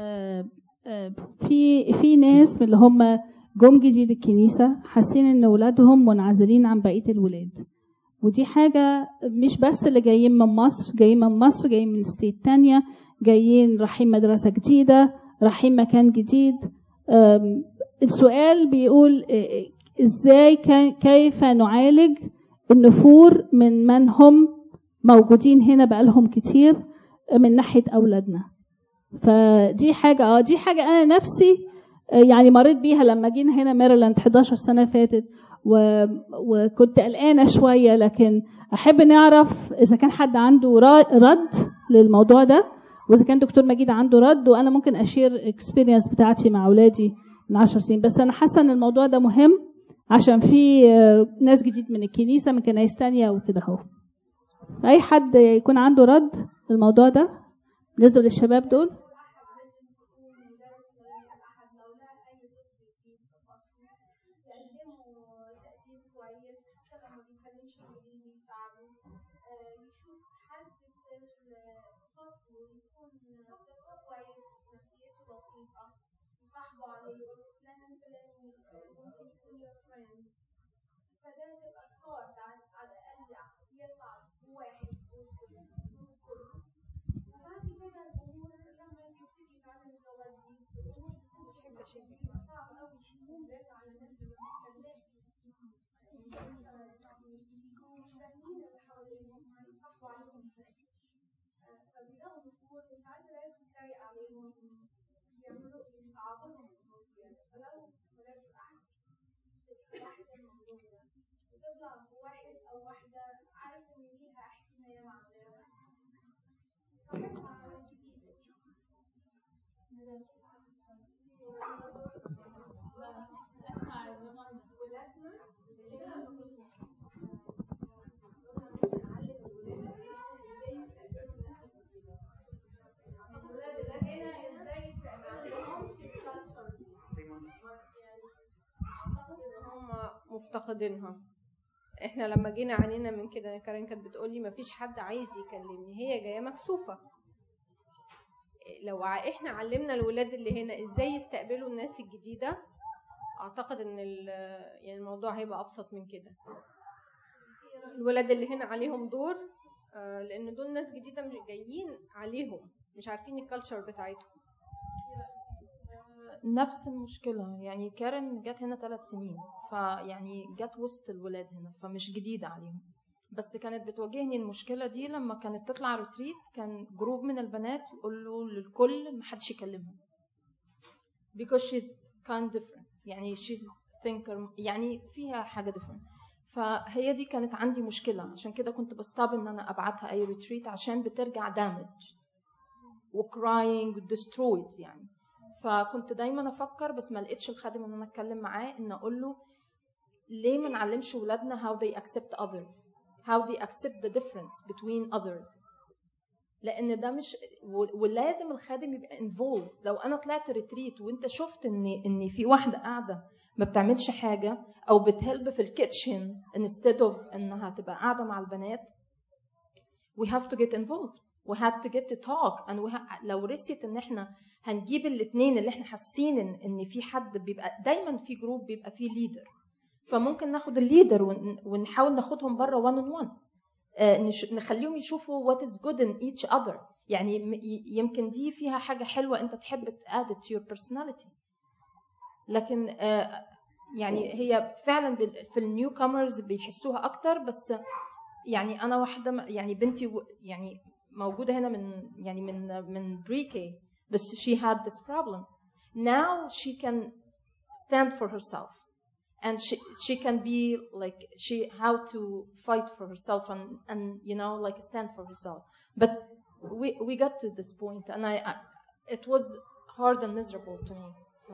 في ناس من اللي هم جم جديد الكنيسه حاسين ان اولادهم منعزلين عن بقيه الولاد، ودي حاجه مش بس اللي جايين من مصر، جايين من ستيت تانية، جايين رايحين مدرسه جديده، رايحين مكان جديد. السؤال بيقول ازاي كيف نعالج النفور من هم موجودين هنا بقالهم كتير من ناحية أولادنا. فدي حاجة أنا نفسي يعني مريت بيها لما جينا هنا ميرلاند 11 سنة فاتت، وكنت قلقانة شوية، لكن أحب نعرف إذا كان حد عنده رد للموضوع ده، وإذا كان دكتور مجيد عنده رد، وأنا ممكن أشير اكسبيرينس بتاعتي مع أولادي من 10 سنين. بس أنا حاسة إن الموضوع ده مهم عشان في ناس جديد من الكنيسة من كنايس تانية وكده اهو. أي حد يكون عنده رد للموضوع ده بالنسبة للشباب دول؟ مفتقدينها. احنا لما جينا عانينا من كده، كارين كانت بتقولي مفيش حد عايز يكلمني، هي جايه مكسوفه. لو احنا علمنا الولاد اللي هنا ازاي يستقبلوا الناس الجديده، اعتقد ان يعني الموضوع هيبقى ابسط من كده. الولاد اللي هنا عليهم دور، لان دول ناس جديده مش جايين عليهم، مش عارفين الكالتشر بتاعتهم. نفس المشكله، يعني كارين جت هنا 3 سنين، فيعني جت وسط الولاد هنا، فمش جديده عليهم. بس كانت بتواجهني المشكله دي لما كانت تطلع ريتريت، كان جروب من البنات يقولوا للكل ما حدش يكلمهم because she's kind different، يعني she's thinker، يعني فيها حاجه different. فهي دي كانت عندي مشكله، عشان كده كنت بستاب ان انا ابعتها اي ريتريت، عشان بترجع damaged وcrying destroyed يعني. فكنت دايما افكر، بس ما لقيتش الخادم ان انا اتكلم معاه، ان اقول له ليه ما نعلمش ولادنا how they accept others، how they accept the difference between others. لان ده مش، ولازم الخادم يبقى involved. لو انا طلعت ريتريت وانت شفت ان في واحده قاعده ما بتعملش حاجه او بتهلب في الكيتشن instead of انها تبقى قاعده مع البنات، we have to get involved، we had to get to talk. and لو رسيت ان احنا هنجيب الاثنين اللي احنا حاسين ان في حد، بيبقى دايما في جروب بيبقى فيه ليدر، فممكن ناخد الليدر ونحاول ناخدهم بره one on one، نخليهم يشوفوا what is good in each other. يعني يمكن دي فيها حاجة حلوة انت تحب add it to your personality. لكن يعني هي فعلا في النيو كامرز بيحسوها اكتر. بس يعني انا واحدة، يعني بنتي يعني موجودة هنا من pre-K، بس she had this problem. Now she can stand for herself and she can be like how to fight for herself and you know like stand for herself. But we got to this point, and I it was hard and miserable to me. So.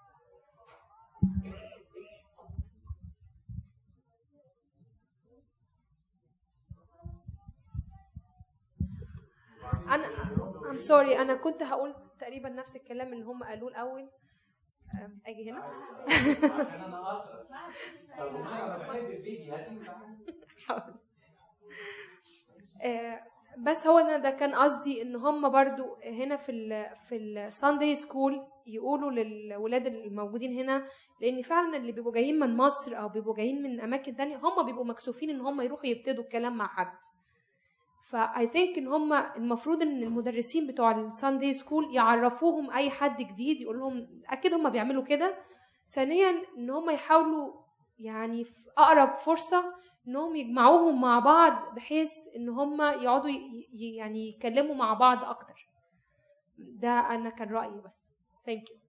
I'm sorry، أنا كنت هقول تقريبا نفس الكلام اللي هم قالوه الأول. أجي هنا. بس هو أنا ده كان قصدي إن هم برضو هنا في الساندي سكول يقولوا للولاد الموجودين هنا، لأن فعلا اللي بيبقوا جايين من مصر أو بيبقوا جايين من أماكن تانية هم بيبقوا مكسوفين إن هم يروحوا يبتدوا الكلام مع حد. فاي ثينك ان هم المفروض ان المدرسين بتوع الساندي سكول يعرفوهم اي حد جديد، يقول لهم اكيد هم بيعملوا كده. ثانيا ان هم يحاولوا يعني في اقرب فرصه انهم يجمعوهم مع بعض بحيث ان هم يقعدوا يعني يتكلموا مع بعض اكتر. ده انا كان رايي بس. ثانك يو.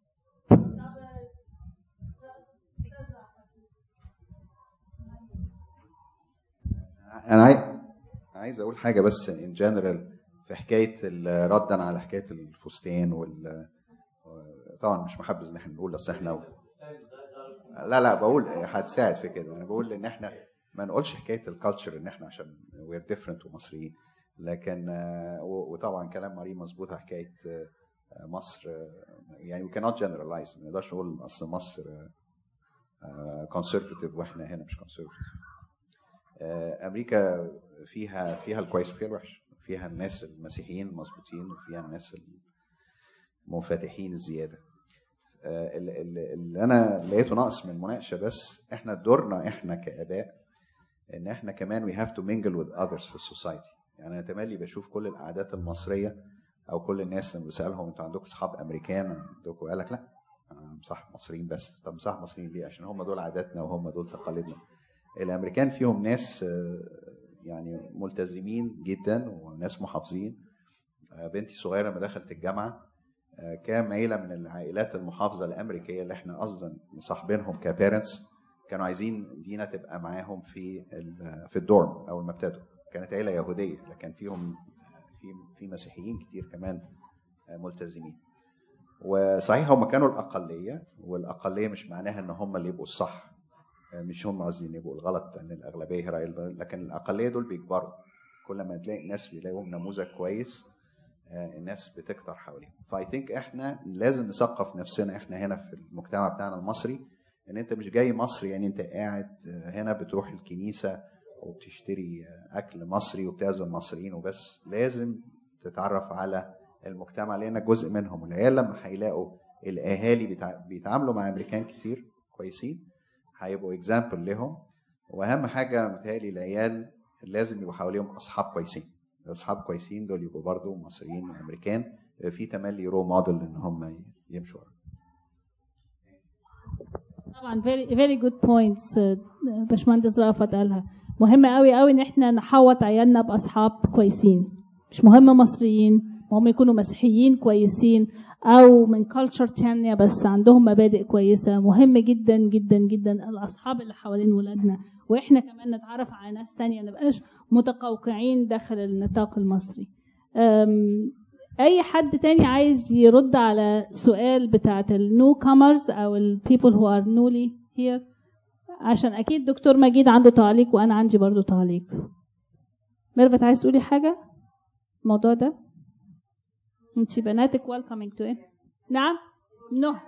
انا عايز اقول حاجه بس ان جنرال في حكايه ردا على حكايه الفستان طبعا مش محبذ ان احنا نقول اصل احنا لا بقول هتساعد في كده. انا بقول ان احنا ما نقولش حكايه الكالتشر ان احنا عشان وير ديفرنت ومصريين، لكن وطبعا كلام مريم مظبوط على حكايه مصر. يعني we cannot generalize، ما نقدرش نقول اصل مصر conservative واحنا هنا مش conservative. امريكا فيها الكويس وفيها الوحش، فيها الناس المسيحيين المظبوطين وفيها الناس المنفتحين الزياده. اللي انا لقيته ناقص من المناقشه بس احنا دورنا احنا كاباء ان احنا كمان we have to mingle with others في السوسايتي. يعني انا تملي بشوف كل القعدات المصريه او كل الناس لما بسالهم انتوا عندكم اصحاب امريكان عندكم، قال لك لا انا مصاحب مصريين بس. طب مصاحب مصريين ليه؟ عشان هم دول عاداتنا وهم دول تقاليدنا. الامريكان فيهم ناس يعني ملتزمين جدا وناس محافظين. بنتي صغيره لما دخلت الجامعه كان عيله من العائلات المحافظه الامريكيه اللي احنا اصلا مصاحبينهم كبيرنتس، كانوا عايزين دينا تبقى معاهم في الدورم اول ما ابتدوا. كانت عيله يهوديه لكن فيهم في مسيحيين كتير كمان ملتزمين. وصحيح هم كانوا الاقليه، والاقليه مش معناها ان هم اللي يبقوا الصح، مش هم قصدي يبقوا الغلط، لان الاغلبيه هي راي البلد، لكن الاقليه دول بيكبروا. كل ما تلاقي ناس بيلاقوا نموذج كويس الناس بتكتر حواليهم. فاي ثينك احنا لازم نثقف نفسنا احنا هنا في المجتمع بتاعنا المصري ان انت مش جاي مصري يعني انت قاعد هنا بتروح الكنيسه وبتشتري اكل مصري وبتعزم مصريين وبس. لازم تتعرف على المجتمع لانك جزء منهم. والعيال لما هيلاقوا الاهالي بيتعاملوا مع امريكان كتير كويسين هيبقوا اكزامبل لهم. واهم حاجه متهيألي العيال لازم يبقوا حواليهم اصحاب كويسين. الاصحاب كويسين دول يبقوا برضو مصريين وامريكان في تملي رو موديل ان هم يمشوا ورا. طبعا very good points باشمهندس رأفت قالها. مهم قوي قوي ان احنا نحوط عيالنا باصحاب كويسين، مش مهم مصريين، هم يكونوا مسيحيين كويسين او من كلتشر تانية بس عندهم مبادئ كويسه. مهم جدا جدا جدا الاصحاب اللي حوالين ولادنا، واحنا كمان نتعرف على ناس تانية، ما نبقاش متقوقعين داخل النطاق المصري. اي حد تاني عايز يرد على سؤال بتاعت النيو كامرز او البيبل هو ار نولي هير؟ عشان اكيد دكتور مجيد عنده تعليق وانا عندي برضو تعليق. ميرفت عايز تقولي حاجه الموضوع ده؟ انتي بناتك welcoming to it. نعم؟ نو. انا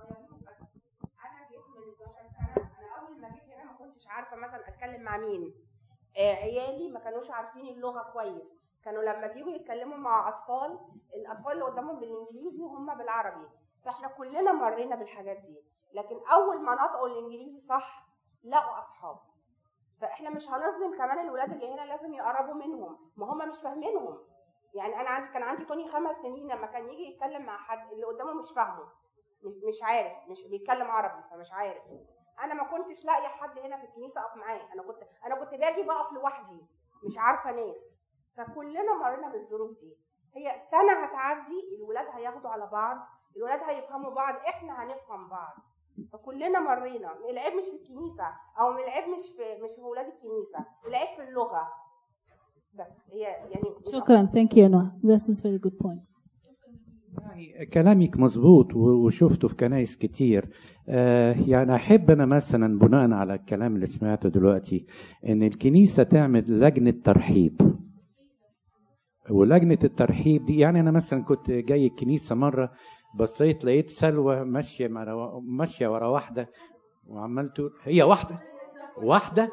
جيت من 12 سنه، انا اول ما جيت هنا ما كنتش عارفه مثلا اتكلم مع مين. عيالي ما كانوش عارفين اللغه كويس، كانوا لما بييجوا يتكلموا مع الاطفال اللي قدامهم بالانجليزي وهم بالعربي، فاحنا كلنا مرينا بالحاجات دي. لكن اول ما نطقوا الانجليزي صح لقوا اصحاب. فاحنا مش هنظلم كمان الولاد اللي هنا، لازم يقربوا منهم، ما هم مش فاهمينهم. يعني انا كان عندي توني 5 سنين، لما كان يجي يتكلم مع حد اللي قدامه مش فاهمه، مش عارف، مش بيتكلم عربي فمش عارف. انا ما كنتش لاقيه حد هنا في الكنيسه اقف معاه، انا كنت باجي بقف لوحدي مش عارفه ناس. فكلنا مرينا بالظروف دي. هي سنه هتعدي، الولاد هياخدوا على بعض، الولاد هيفهموا بعض، احنا هنفهم بعض. فكلنا مرينا. العيب مش في الكنيسه، او العيب مش في ولاد الكنيسه، العيب في اللغه بس. هي يعني شكرا. ثانك يو نوح. This is very good point. يعني كلامك مظبوط وشفته في كنايس كتير. يعني احب انا مثلا بناء على الكلام اللي سمعته دلوقتي ان الكنيسه تعمل لجنه ترحيب. ولجنه الترحيب دي يعني انا مثلا كنت جاي الكنيسه مره، بصيت لقيت سلوى ماشيه ورا واحده وعمال تقول هي واحده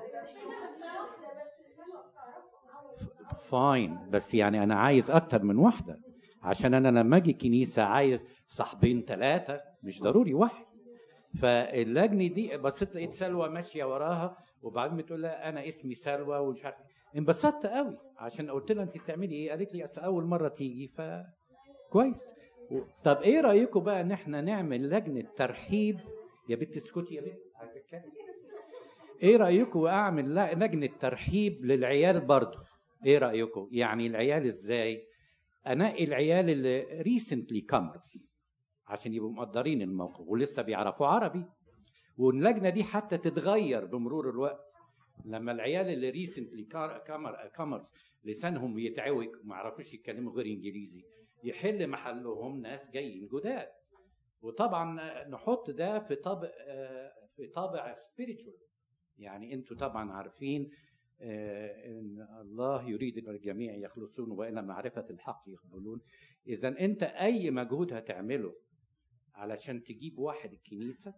فاين، بس يعني انا عايز اكتر من واحده، عشان انا لما اجي كنيسه عايز صاحبين 3 مش ضروري واحد. فاللجنه دي بصيت لقيت سلوى ماشيه وراها، وبعدين بتقول لها انا اسمي سلوى ومش عارف. انبسطت قوي عشان قلت لها انت بتعملي ايه؟ قالت لي اصل اول مره تيجي فكويس. طب ايه رايكم بقى ان احنا نعمل لجنه ترحيب؟ يا بنت اسكتي يا بنت هتتكلم. ايه رايكم اعمل لجنه ترحيب للعيال برضو؟ ايه رايكم؟ يعني العيال ازاي؟ انقي العيال اللي ريسنتلي كامرز عشان يبقوا مقدرين الموقف ولسه بيعرفوا عربي، واللجنه دي حتى تتغير بمرور الوقت. لما العيال اللي ريسنتلي كامرز لسانهم يتعوج وما يعرفوش يتكلموا غير انجليزي، يحل محلهم ناس جايين جداد. وطبعا نحط ده في طابع سبيريتشوال. يعني انتوا طبعا عارفين ان الله يريد ان الجميع يخلصون والى معرفه الحق يقبلون. اذا انت اي مجهود هتعمله علشان تجيب واحد الكنيسه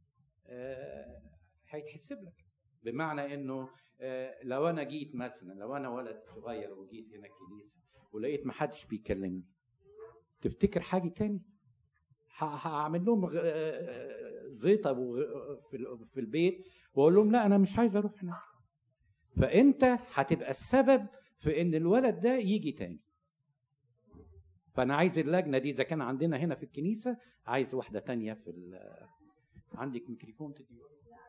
هيتحسب لك. بمعنى انه لو انا جيت مثلا، لو انا ولد صغير وجيت هنا الكنيسه ولقيت ما حدش بيكلمني، تفتكر حاجه تاني؟ هعمل لهم زيطه في البيت واقول لهم لا انا مش عايز اروح هناك. فانت هتبقى السبب في ان الولد ده يجي تاني. فانا عايز اللجنه دي اذا كان عندنا هنا في الكنيسه، عايز واحده تانية في عندك ميكروفون تدي.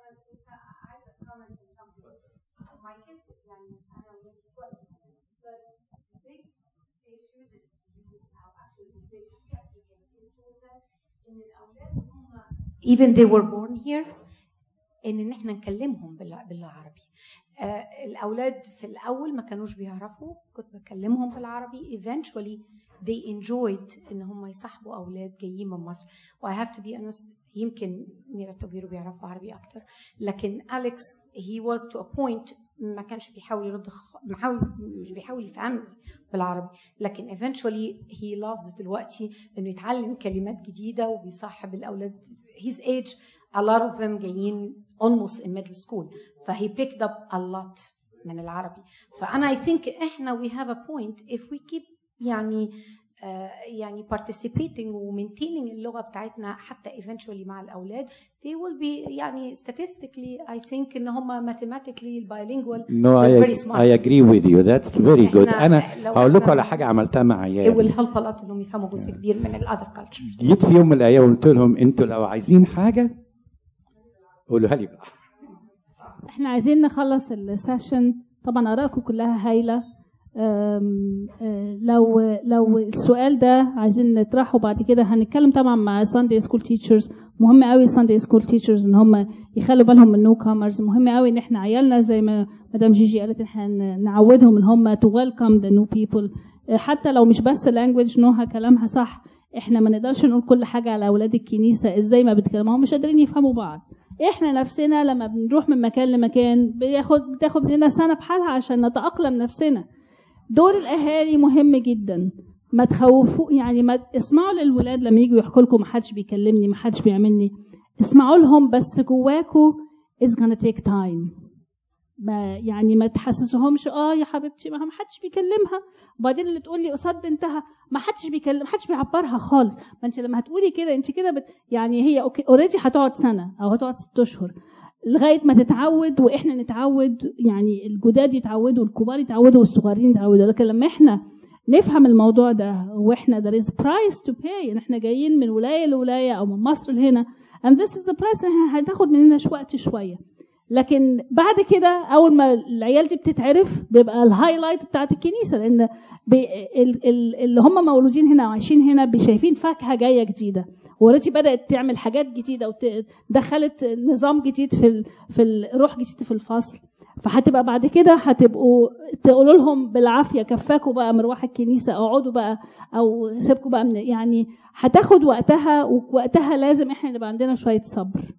even they were born here ان احنا نكلمهم بالعربي. الاولاد في الاول ما كانوش بيعرفوا، كنت بكلمهم بالعربي. eventually they enjoyed ان هم يصاحبوا اولاد جايين من مصر. و I have to be honest، يمكن ميرا توفيرو بيعرفوا عربي اكتر، لكن أليكس he was to a point ما كانش بيحاول يرد، مش بيحاول يفهمني بالعربي، لكن eventually he loves دلوقتي انه يتعلم كلمات جديده وبيصاحب الاولاد his age. a lot of them جايين almost in middle school، فهي picked up a lot من العربي. فأنا I think إحنا we have a point if we keep يعني participating و maintaining اللغة بتاعتنا حتى eventually مع الأولاد they will be يعني statistically I think إن هم mathematically bilingual. No, very smart. I agree with you. That's very good. أنا هقول لكم على حاجة عملتها مع عيالي. it will help a lot إنهم يفهموا جزء كبير من ال other cultures. جيت في يوم من الأيام وقلت لهم أنتوا لو عايزين حاجة قولوها لي بقى. احنا عايزين نخلص السيشن. طبعا آرائكم كلها هايلة. لو السؤال ده عايزين نطرحه بعد كده هنتكلم طبعا مع Sunday School Teachers. مهم قوي Sunday School Teachers ان هم يخلوا بالهم من newcomers. مهم قوي ان احنا عيالنا زي ما مدام جيجي قالت احنا نعودهم ان هم to welcome the new people. حتى لو مش بس language نوها كلامها صح. احنا ما نقدرش نقول كل حاجة على اولاد الكنيسة ازاي ما بيتكلموا، هم مش قادرين يفهموا بعض. احنا نفسنا لما بنروح من مكان لمكان بتاخد لنا سنة بحالها عشان نتأقلم نفسنا. دور الاهالي مهم جدا. ما تخوفوا يعني ما اسمعوا للولاد لما يجوا يحكوا لكم ما حدش بيكلمني ما حدش بيعملني، اسمعوا لهم بس جواكوا it's gonna take time. ما تحسسوهمش يا حبيبتي ما حدش بيكلمها، وبعدين اللي تقول لي قصاد بنتها ما حدش بيكلم، ما حدش بيعبرها خالص. ما انت لما هتقولي كده انت كده يعني هي اوريدي هتقعد سنه او هتقعد 6 أشهر لغايه ما تتعود واحنا نتعود، يعني الجداد يتعودوا والكبار يتعودوا والصغيرين يتعودوا. لكن لما احنا نفهم الموضوع ده واحنا there is price to pay، ان احنا جايين من ولايه لولايه او من مصر لهنا and this is the price، احنا هتاخد مننا وقت شويه. لكن بعد كده اول ما العيال دي بتتعرف بيبقى الهايلايت بتاعت الكنيسه، لان اللي هم مولودين هنا وعايشين هنا شايفين فاكهه جايه جديده، وريتي بدات تعمل حاجات جديده ودخلت نظام جديد في روح جديد في الفصل. فهتبقى بعد كده هتبقوا تقولوا لهم بالعافيه كفاكوا بقى مروح الكنيسه، اقعدوا بقى او سيبكوا بقى يعني هتاخد وقتها، ووقتها لازم احنا نبقى عندنا شويه صبر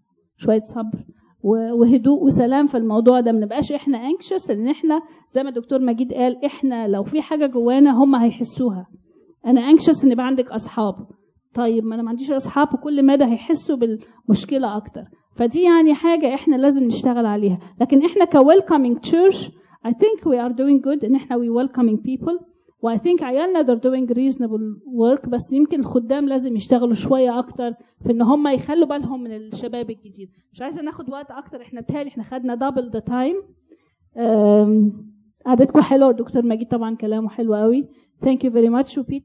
وهدوء وسلام في الموضوع ده. ما نبقاش احنا انكشس، لان احنا زي ما الدكتور مجيد قال احنا لو في حاجه جوانا هم هيحسوها. انا انكشس ان يبقى عندك اصحاب، طيب ما انا ما عنديش اصحاب، وكل مدى هيحسوا بالمشكله اكتر. فدي يعني حاجه احنا لازم نشتغل عليها. لكن احنا كويلكمينج تشيرش I think we are doing good ان احنا we welcoming people، و I think عيالنا they're doing reasonable work. بس يمكن الخدام لازم يشتغلوا شويه اكتر في ان هم يخلوا بالهم من الشباب الجديد. مش عايزه ناخد وقت اكتر، احنا بتهيألي احنا خدنا double the time. قعدتكم حلوه، والدكتور مجيد طبعا كلامه حلو قوي. Thank you very much.